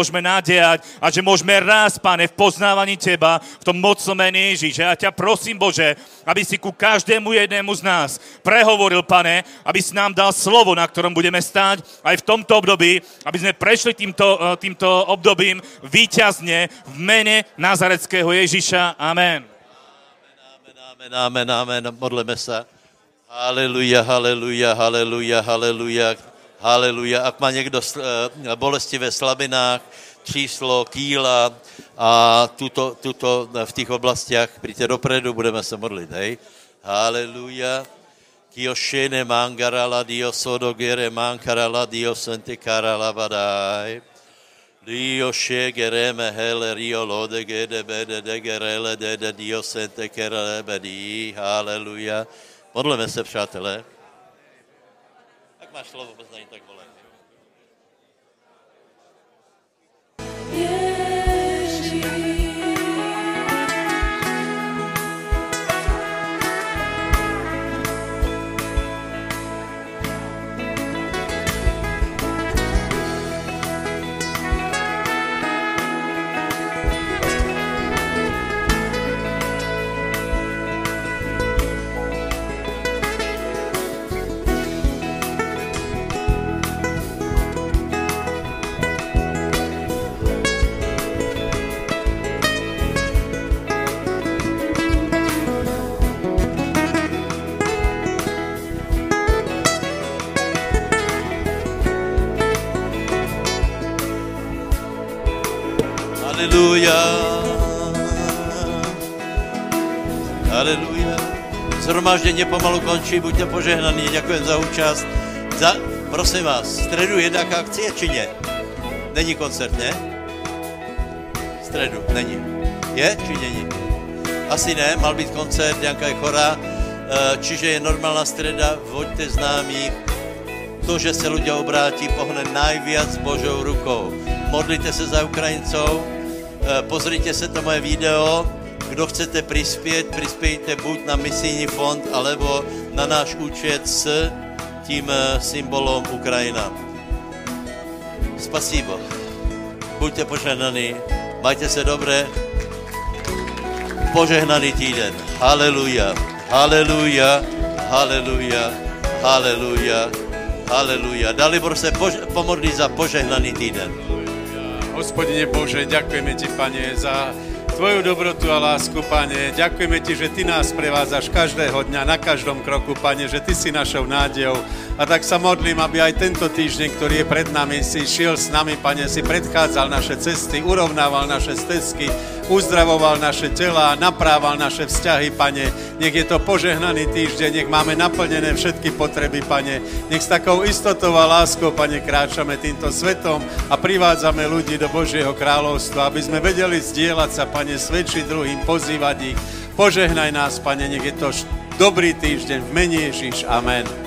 [SPEAKER 2] môžeme nadiať a že môžeme rásť, Pane, v poznávaní Teba, v tom mocnom mene Ježiš. Ja ťa prosím, Bože, aby si ku každému jednému z nás prehovoril, Pane, aby si nám dal slovo, na ktorom budeme stáť aj v tomto období, aby sme prešli týmto, týmto obdobím víťazne v mene Nazareckého Ježiša. Amen.
[SPEAKER 1] Amen, amen, amen, amen. Modleme sa. Haleluja, haleluja, haleluja, haleluja, haleluja. Ak má niekto bolesti ve slabinách, číslo, kýla a tuto, tuto v tých oblastiach, príďte dopredu, budeme sa modliť, hej. Haleluja. Kiošene mangarala dio sodogere mankarala dio sente karala badaj. Dio shegereme hele rio lode gede bede de gerele de de dio sente kerele bedi. Haleluja. Modleme se, přátelé. Tak máš slovo, poznají, tak volej. Haleluja. Haleluja. Zhromáždění pomalu končí, buďte požehnaní, děkujem za účast. Za, prosím vás, středu je nějaká akcie, či ne? Není koncert, ne? Středu, není. Je, či není? Asi ne, mal být koncert, nějaká je chora, čiže je normálna streda, voďte známých. To, že se ľudia obrátí, pohne najviac Božou rukou. Modlite se za Ukrajincov, pozrite se to moje video, kdo chcete prispět, prispějte buď na misijní fond, alebo na náš účet s tím symbolom Ukrajina. Spasíbo. Buďte požehnaní, majte se dobré. Požehnaný týden. Haleluja, haleluja, haleluja, haleluja. Haleluja. Dalibor se pož- pomodlí za požehnaný týden.
[SPEAKER 3] Hospodine Bože, ďakujeme Ti, Pane, za Tvoju dobrotu a lásku, Pane. Ďakujeme Ti, že Ty nás prevádzaš každého dňa, na každom kroku, Pane, že Ty si našou nádejou. A tak sa modlím, aby aj tento týždeň, ktorý je pred nami, si šiel s nami, Pane, si predchádzal naše cesty, urovnával naše stezky, uzdravoval naše tela, naprával naše vzťahy, Pane. Nech je to požehnaný týždeň, nech máme naplnené všetky potreby, Pane. Nech s takou istotou a láskou, Pane, kráčame týmto svetom a privádzame ľudí do Božieho kráľovstva, aby sme vedeli zdieľať sa, Pane, svedčiť druhým, pozývať ich. Požehnaj nás, Pane, nech je to dobrý týždeň v mene Ježiš. Amen.